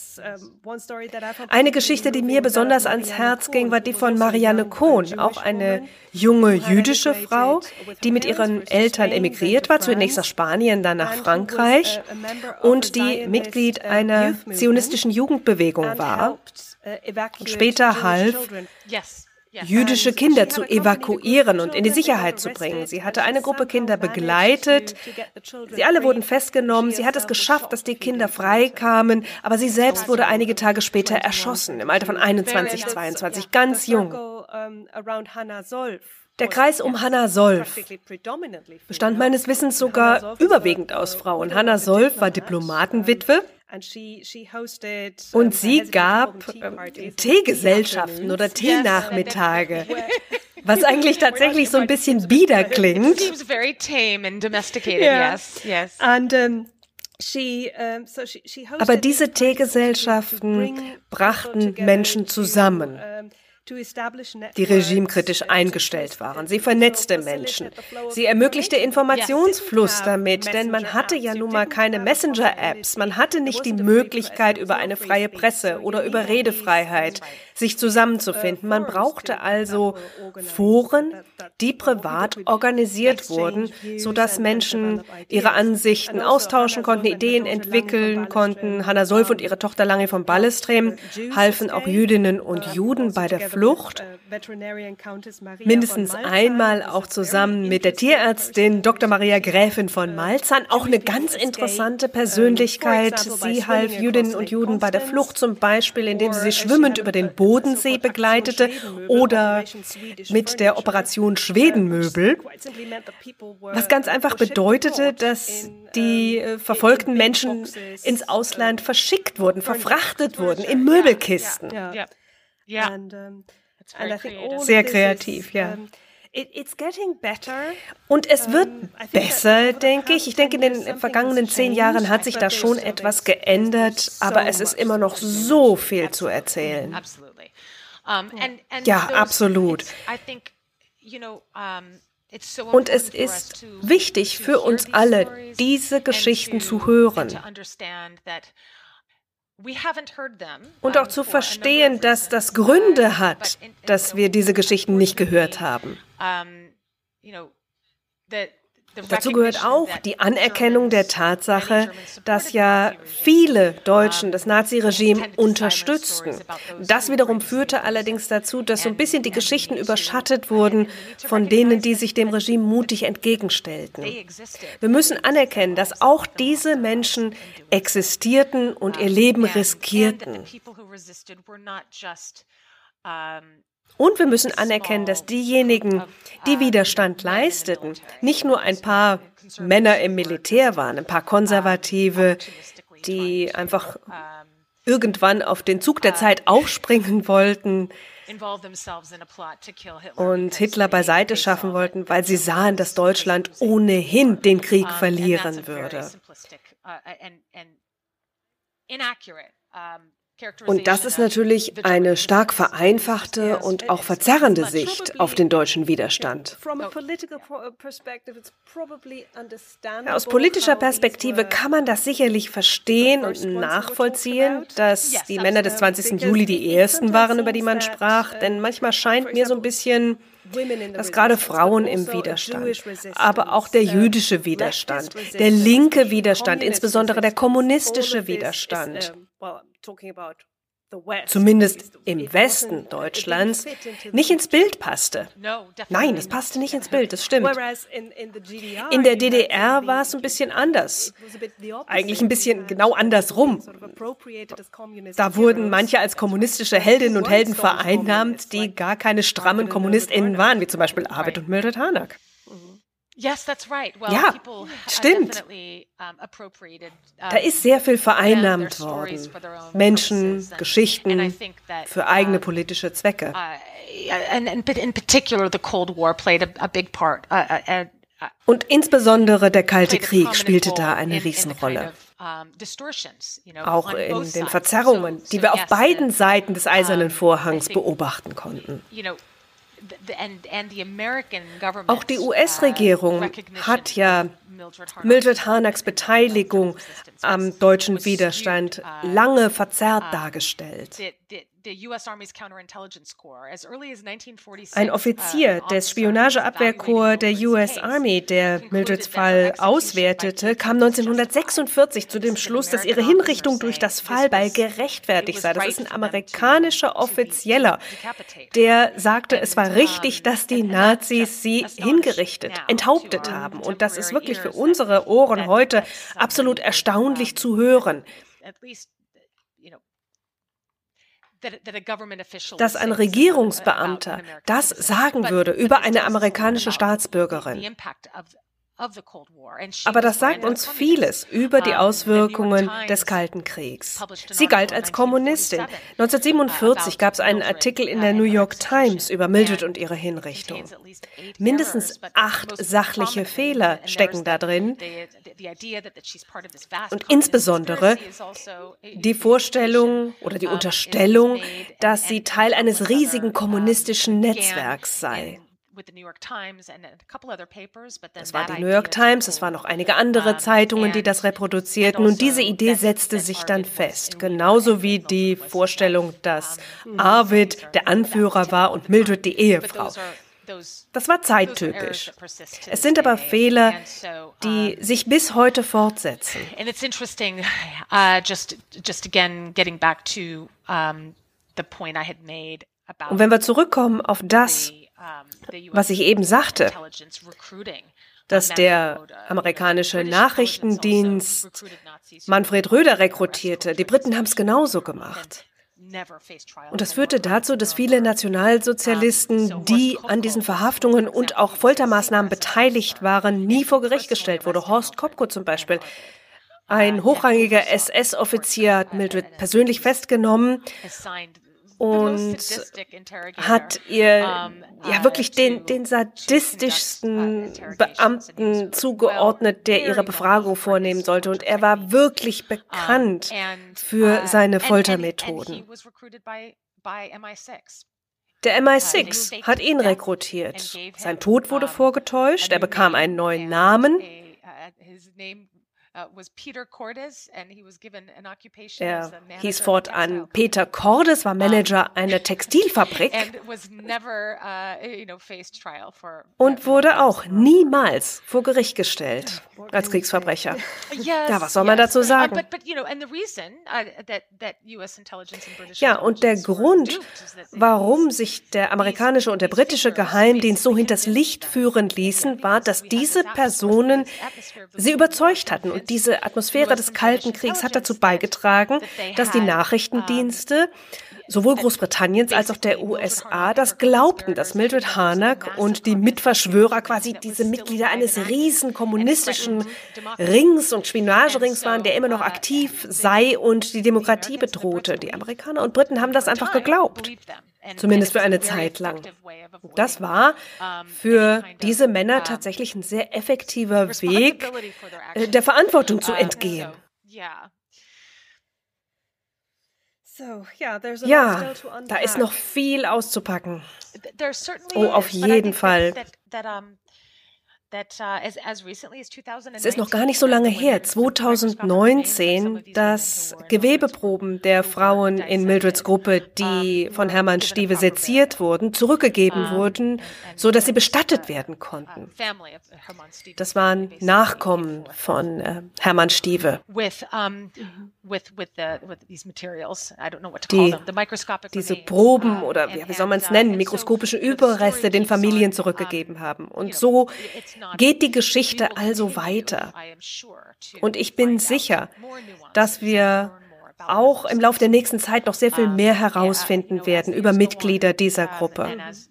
Eine Geschichte, die mir besonders ans Herz ging, war die von Marianne Kohn, auch eine junge jüdische Frau, die mit ihren Eltern emigriert war, zunächst nach Spanien, dann nach Frankreich und die Mitglied einer zionistischen Jugendbewegung war und später half, jüdische Kinder zu evakuieren und in die Sicherheit zu bringen. Sie hatte eine Gruppe Kinder begleitet. Sie alle wurden festgenommen. Sie hat es geschafft, dass die Kinder freikamen, aber sie selbst wurde einige Tage später erschossen, im Alter von 21, 22, ganz jung. Der Kreis um Hanna Solf bestand meines Wissens sogar überwiegend aus Frauen. Hanna Solf war Diplomatenwitwe. Und sie gab Teegesellschaften oder Teenachmittage, was eigentlich tatsächlich so ein bisschen bieder klingt. Aber diese Teegesellschaften brachten Menschen zusammen, die regimekritisch eingestellt waren. Sie vernetzte Menschen. Sie ermöglichte Informationsfluss damit, denn man hatte ja nun mal keine Messenger-Apps. Man hatte nicht die Möglichkeit, über eine freie Presse oder über Redefreiheit sich zusammenzufinden. Man brauchte also Foren, die privat organisiert wurden, sodass Menschen ihre Ansichten austauschen konnten, Ideen entwickeln konnten. Hanna Solf und ihre Tochter Lange von Ballestrem halfen auch Jüdinnen und Juden bei der Flucht. Mindestens einmal auch zusammen mit der Tierärztin Dr. Maria Gräfin von Malzahn, auch eine ganz interessante Persönlichkeit. Sie half Jüdinnen und Juden bei der Flucht zum Beispiel, indem sie schwimmend über den Bodensee begleitete oder mit der Operation Schwedenmöbel, was ganz einfach bedeutete, dass die verfolgten Menschen ins Ausland verschickt wurden, verfrachtet wurden in Möbelkisten. Sehr kreativ, ja. Und es wird besser, denke ich. Ich denke, in den vergangenen 10 Jahren hat sich da schon etwas geändert, aber es ist immer noch so viel zu erzählen. Ja, absolut. Und es ist wichtig für uns alle, diese Geschichten zu hören. Und auch zu verstehen, dass das Gründe hat, dass wir diese Geschichten nicht gehört haben. Dazu gehört auch die Anerkennung der Tatsache, dass ja viele Deutschen das Naziregime unterstützten. Das wiederum führte allerdings dazu, dass so ein bisschen die Geschichten überschattet wurden von denen, die sich dem Regime mutig entgegenstellten. Wir müssen anerkennen, dass auch diese Menschen existierten und ihr Leben riskierten. Und wir müssen anerkennen, dass diejenigen, die Widerstand leisteten, nicht nur ein paar Männer im Militär waren, ein paar Konservative, die einfach irgendwann auf den Zug der Zeit aufspringen wollten und Hitler beiseite schaffen wollten, weil sie sahen, dass Deutschland ohnehin den Krieg verlieren würde. Und das ist natürlich eine stark vereinfachte und auch verzerrende Sicht auf den deutschen Widerstand. Aus politischer Perspektive kann man das sicherlich verstehen und nachvollziehen, dass die Männer des 20. Juli die ersten waren, über die man sprach, denn manchmal scheint mir so ein bisschen, dass gerade Frauen im Widerstand, aber auch der jüdische Widerstand, der linke Widerstand, insbesondere der kommunistische Widerstand, zumindest im Westen Deutschlands, nicht ins Bild passte. Nein, es passte nicht ins Bild, das stimmt. In der DDR war es ein bisschen anders. Eigentlich ein bisschen genau andersrum. Da wurden manche als kommunistische Heldinnen und Helden vereinnahmt, die gar keine strammen KommunistInnen waren, wie zum Beispiel Arvid und Mildred Harnack. Yes, that's right. Well, ja, people stimmt. Da ist sehr viel vereinnahmt worden. Menschen, Geschichten für eigene politische Zwecke. And in particular, the Cold War played a big part. Und insbesondere der Kalte Krieg spielte da eine Riesenrolle. Auch in den Verzerrungen, die wir auf beiden Seiten des Eisernen Vorhangs beobachten konnten. Auch die US-Regierung hat ja Mildred Harnacks Beteiligung am deutschen Widerstand lange verzerrt dargestellt. Ein Offizier des Spionageabwehrkorps der US Army, der Mildreds Fall auswertete, kam 1946 zu dem Schluss, dass ihre Hinrichtung durch das Fallbeil gerechtfertigt sei. Das ist ein amerikanischer Offizieller, der sagte, es war richtig, dass die Nazis sie hingerichtet, enthauptet haben. Und das ist wirklich für unsere Ohren heute absolut erstaunlich zu hören. Dass ein Regierungsbeamter das sagen würde über eine amerikanische Staatsbürgerin. Aber das sagt uns vieles über die Auswirkungen des Kalten Kriegs. Sie galt als Kommunistin. 1947 gab es einen Artikel in der New York Times über Mildred und ihre Hinrichtung. Mindestens 8 sachliche Fehler stecken da drin. Und insbesondere die Vorstellung oder die Unterstellung, dass sie Teil eines riesigen kommunistischen Netzwerks sei. Das war die New York Times, es waren noch einige andere Zeitungen, die das reproduzierten. Und diese Idee setzte sich dann fest. Genauso wie die Vorstellung, dass Arvid der Anführer war und Mildred die Ehefrau. Das war zeittypisch. Es sind aber Fehler, die sich bis heute fortsetzen. And it's interesting, just again getting back to the point I had made about. Und wenn wir zurückkommen auf das, was ich eben sagte, dass der amerikanische Nachrichtendienst Manfred Röder rekrutierte. Die Briten haben es genauso gemacht. Und das führte dazu, dass viele Nationalsozialisten, die an diesen Verhaftungen und auch Foltermaßnahmen beteiligt waren, nie vor Gericht gestellt wurde. Horst Kopko zum Beispiel. Ein hochrangiger SS-Offizier hat Mildred persönlich festgenommen und hat ihr ja wirklich den sadistischsten Beamten zugeordnet, der ihre Befragung vornehmen sollte. Und er war wirklich bekannt für seine Foltermethoden. Der MI6 hat ihn rekrutiert. Sein Tod wurde vorgetäuscht, er bekam einen neuen Namen. Er hieß fortan Peter Cordes, war Manager einer Textilfabrik und wurde auch niemals vor Gericht gestellt als Kriegsverbrecher. Ja, was soll man dazu sagen? Ja, und der Grund, warum sich der amerikanische und der britische Geheimdienst so hinters Licht führen ließen, war, dass diese Personen sie überzeugt hatten. Und diese Atmosphäre des Kalten Kriegs hat dazu beigetragen, dass die Nachrichtendienste sowohl Großbritanniens als auch der USA das glaubten, dass Mildred Harnack und die Mitverschwörer quasi diese Mitglieder eines riesen kommunistischen Rings und Spionagerings waren, der immer noch aktiv sei und die Demokratie bedrohte. Die Amerikaner und Briten haben das einfach geglaubt. Zumindest für eine Zeit lang. Das war für diese Männer tatsächlich ein sehr effektiver Weg, der Verantwortung zu entgehen. Ja, da ist noch viel auszupacken. Oh, auf jeden Fall. Es ist noch gar nicht so lange her, 2019, dass Gewebeproben der Frauen in Mildreds Gruppe, die von Hermann Stieve seziert wurden, zurückgegeben wurden, so dass sie bestattet werden konnten. Das waren Nachkommen von Hermann Stieve. these materials. I don't know what to call them. The microscopic diese remains, Proben oder wie soll man es nennen, mikroskopische Überreste den Familien zurückgegeben haben. Und so geht die Geschichte also weiter. Und ich bin sicher, dass wir auch im Laufe der nächsten Zeit noch sehr viel mehr herausfinden werden über Mitglieder dieser Gruppe.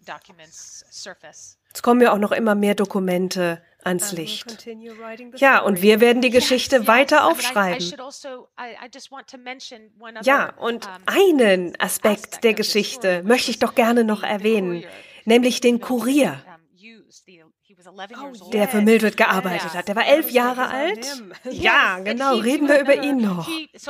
Es kommen ja auch noch immer mehr Dokumente ans Licht. Ja, und wir werden die Geschichte weiter aufschreiben. Ja, und einen Aspekt der Geschichte möchte ich doch gerne noch erwähnen, nämlich den Kurier, der für Mildred gearbeitet hat. Der war 11 Jahre alt. Ja, genau, reden wir über ihn noch.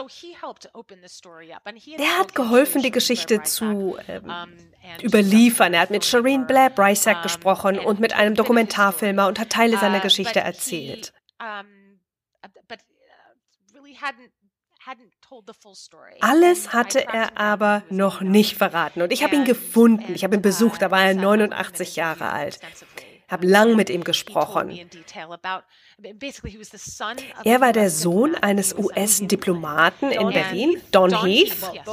Der hat geholfen, die Geschichte zu überliefern. Er hat mit Shireen Brysack gesprochen und mit einem Dokumentarfilmer und hat Teile seiner Geschichte erzählt. Alles hatte er aber noch nicht verraten. Und ich habe ihn gefunden. Ich habe ihn besucht. Da war er 89 Jahre alt. Ich habe lang mit ihm gesprochen. Er war der Sohn eines US-Diplomaten in Berlin, Don Heath.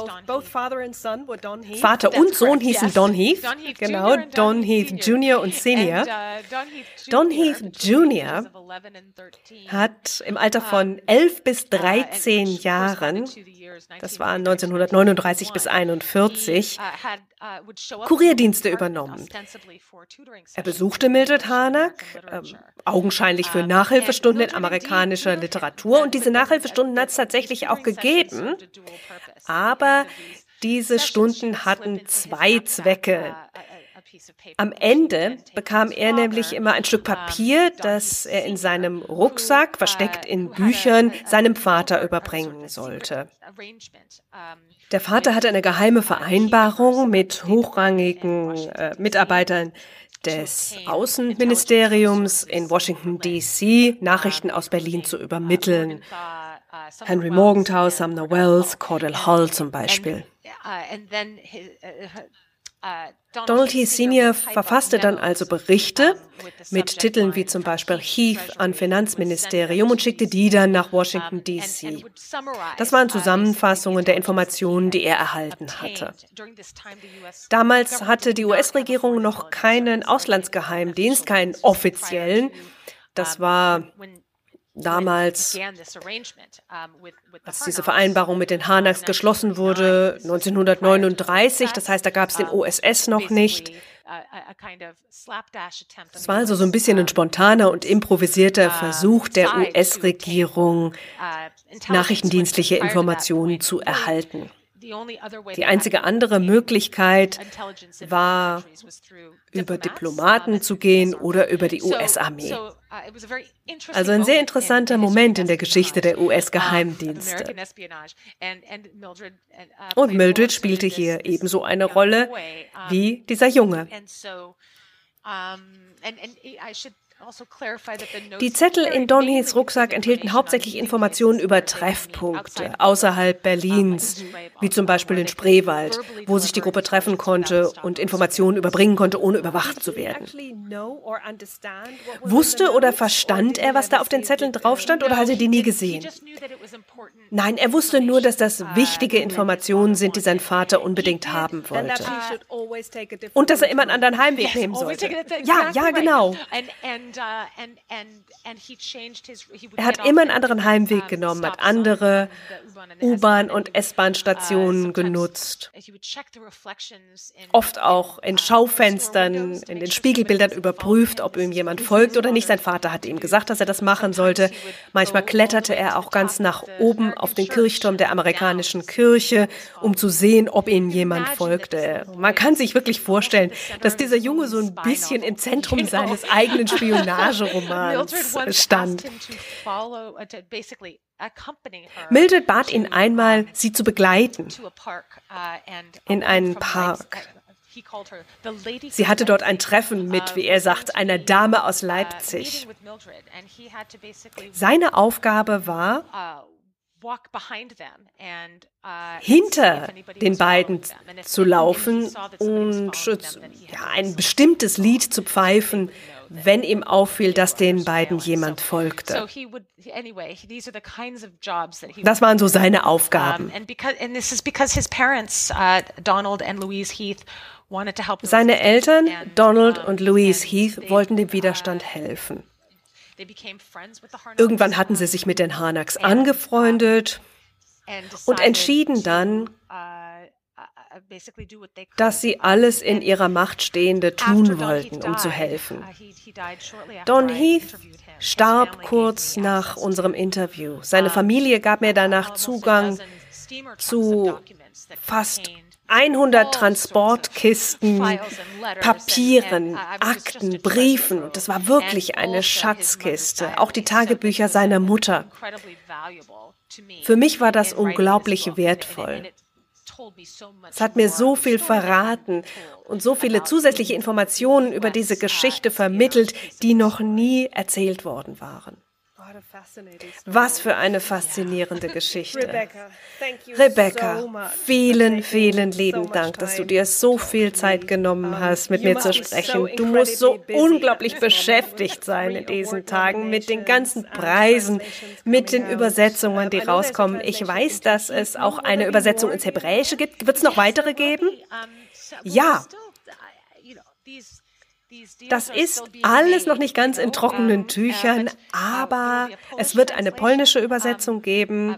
Vater und Sohn hießen Don Heath, genau, Don Heath Jr. und Senior. Don Heath Jr. hat im Alter von 11 bis 13 Jahren, das war 1939 bis 1941, Kurierdienste übernommen. Er besuchte Mildred Harnack, augenscheinlich für Nachhilfestunden in amerikanischer Literatur. Und diese Nachhilfestunden hat es tatsächlich auch gegeben. Aber diese Stunden hatten zwei Zwecke. Am Ende bekam er nämlich immer ein Stück Papier, das er in seinem Rucksack, versteckt in Büchern, seinem Vater überbringen sollte. Der Vater hatte eine geheime Vereinbarung mit hochrangigen Mitarbeitern des Außenministeriums in Washington, D.C., Nachrichten aus Berlin zu übermitteln. Henry Morgenthau, Sumner Wells, Cordell Hull zum Beispiel. Donald Heath Sr. verfasste dann also Berichte mit Titeln wie zum Beispiel Heath an Finanzministerium und schickte die dann nach Washington, D.C. Das waren Zusammenfassungen der Informationen, die er erhalten hatte. Damals hatte die US-Regierung noch keinen Auslandsgeheimdienst, keinen offiziellen. Das war damals, als diese Vereinbarung mit den Harnacks geschlossen wurde, 1939, das heißt, da gab es den OSS noch nicht. Es war also so ein bisschen ein spontaner und improvisierter Versuch der US-Regierung, nachrichtendienstliche Informationen zu erhalten. Die einzige andere Möglichkeit war, über Diplomaten zu gehen oder über die US-Armee. Also ein sehr interessanter Moment in der Geschichte der US-Geheimdienste. Und Mildred spielte hier ebenso eine Rolle wie dieser Junge. Die Zettel in Don Heaths Rucksack enthielten hauptsächlich Informationen über Treffpunkte außerhalb Berlins, wie zum Beispiel den Spreewald, wo sich die Gruppe treffen konnte und Informationen überbringen konnte, ohne überwacht zu werden. Wusste oder verstand er, was da auf den Zetteln drauf stand, oder hat er die nie gesehen? Nein, er wusste nur, dass das wichtige Informationen sind, die sein Vater unbedingt haben wollte. Und dass er immer einen anderen Heimweg nehmen sollte. Ja, genau. Er hat immer einen anderen Heimweg genommen, hat andere U-Bahn- und S-Bahn-Stationen genutzt. Oft auch in Schaufenstern, in den Spiegelbildern überprüft, ob ihm jemand folgt oder nicht. Sein Vater hatte ihm gesagt, dass er das machen sollte. Manchmal kletterte er auch ganz nach oben auf den Kirchturm der amerikanischen Kirche, um zu sehen, ob ihm jemand folgte. Man kann sich wirklich vorstellen, dass dieser Junge so ein bisschen im Zentrum seines eigenen Spionageromans stand. Mildred bat ihn einmal, sie zu begleiten in einen Park. Sie hatte dort ein Treffen mit, wie er sagt, einer Dame aus Leipzig. Seine Aufgabe war, hinter den beiden zu laufen und ein bestimmtes Lied zu pfeifen, wenn ihm auffiel, dass den beiden jemand folgte. Das waren so seine Aufgaben. Seine Eltern, Donald und Louise Heath, wollten dem Widerstand helfen. Irgendwann hatten sie sich mit den Harnacks angefreundet und entschieden dann, dass sie alles in ihrer Macht Stehende tun wollten, um zu helfen. Don Heath starb kurz nach unserem Interview. Seine Familie gab mir danach Zugang zu fast 100 Transportkisten, Papieren, Akten, Briefen. Und das war wirklich eine Schatzkiste. Auch die Tagebücher seiner Mutter. Für mich war das unglaublich wertvoll. Es hat mir so viel verraten und so viele zusätzliche Informationen über diese Geschichte vermittelt, die noch nie erzählt worden waren. Was für eine faszinierende Geschichte. Rebecca, vielen, vielen lieben Dank, dass du dir so viel Zeit genommen hast, mit mir zu sprechen. Du musst so unglaublich beschäftigt sein in diesen Tagen mit den ganzen Preisen, mit den Übersetzungen, die rauskommen. Ich weiß, dass es auch eine Übersetzung ins Hebräische gibt. Wird es noch weitere geben? Ja. Das ist alles noch nicht ganz in trockenen Tüchern, aber es wird eine polnische Übersetzung geben.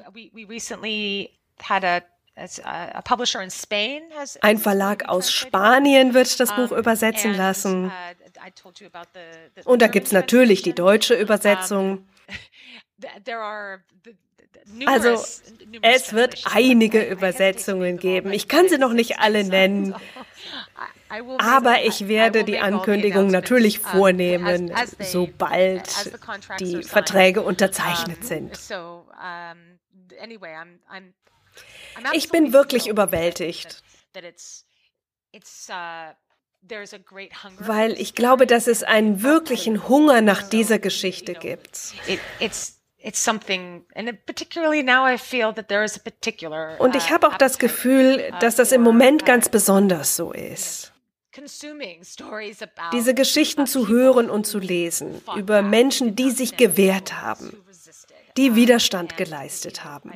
Ein Verlag aus Spanien wird das Buch übersetzen lassen. Und da gibt es natürlich die deutsche Übersetzung. Also, es wird einige Übersetzungen geben. Ich kann sie noch nicht alle nennen. Aber ich werde die Ankündigung natürlich vornehmen, sobald die Verträge unterzeichnet sind. Ich bin wirklich überwältigt, weil ich glaube, dass es einen wirklichen Hunger nach dieser Geschichte gibt. Und ich habe auch das Gefühl, dass das im Moment ganz besonders so ist. Diese Geschichten zu hören und zu lesen über Menschen, die sich gewehrt haben, die Widerstand geleistet haben.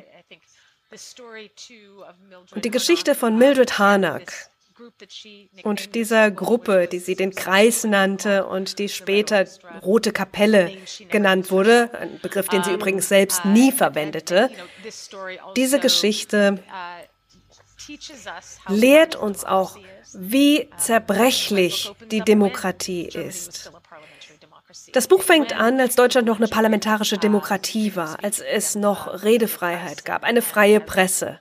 Und die Geschichte von Mildred Harnack und dieser Gruppe, die sie den Kreis nannte und die später Rote Kapelle genannt wurde, ein Begriff, den sie übrigens selbst nie verwendete, diese Geschichte lehrt uns auch, wie zerbrechlich die Demokratie ist. Das Buch fängt an, als Deutschland noch eine parlamentarische Demokratie war, als es noch Redefreiheit gab, eine freie Presse.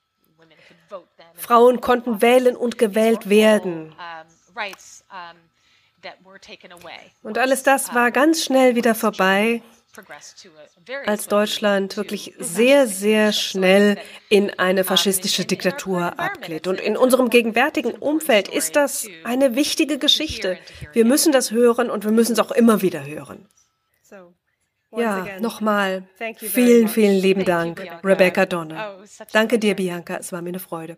Frauen konnten wählen und gewählt werden. Und alles das war ganz schnell wieder vorbei, als Deutschland wirklich sehr, sehr schnell in eine faschistische Diktatur abglitt. Und in unserem gegenwärtigen Umfeld ist das eine wichtige Geschichte. Wir müssen das hören und wir müssen es auch immer wieder hören. Ja, nochmal, vielen, vielen lieben Dank, Rebecca Donner. Danke dir, Bianca, es war mir eine Freude.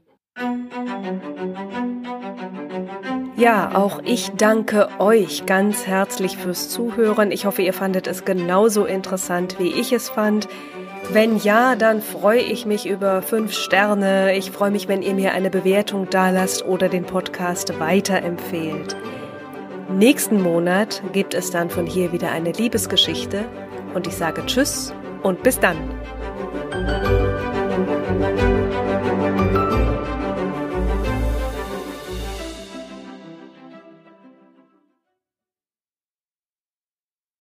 Ja, auch ich danke euch ganz herzlich fürs Zuhören. Ich hoffe, ihr fandet es genauso interessant, wie ich es fand. Wenn ja, dann freue ich mich über 5 Sterne. Ich freue mich, wenn ihr mir eine Bewertung dalasst oder den Podcast weiterempfehlt. Nächsten Monat gibt es dann von hier wieder eine Liebesgeschichte. Und ich sage Tschüss und bis dann.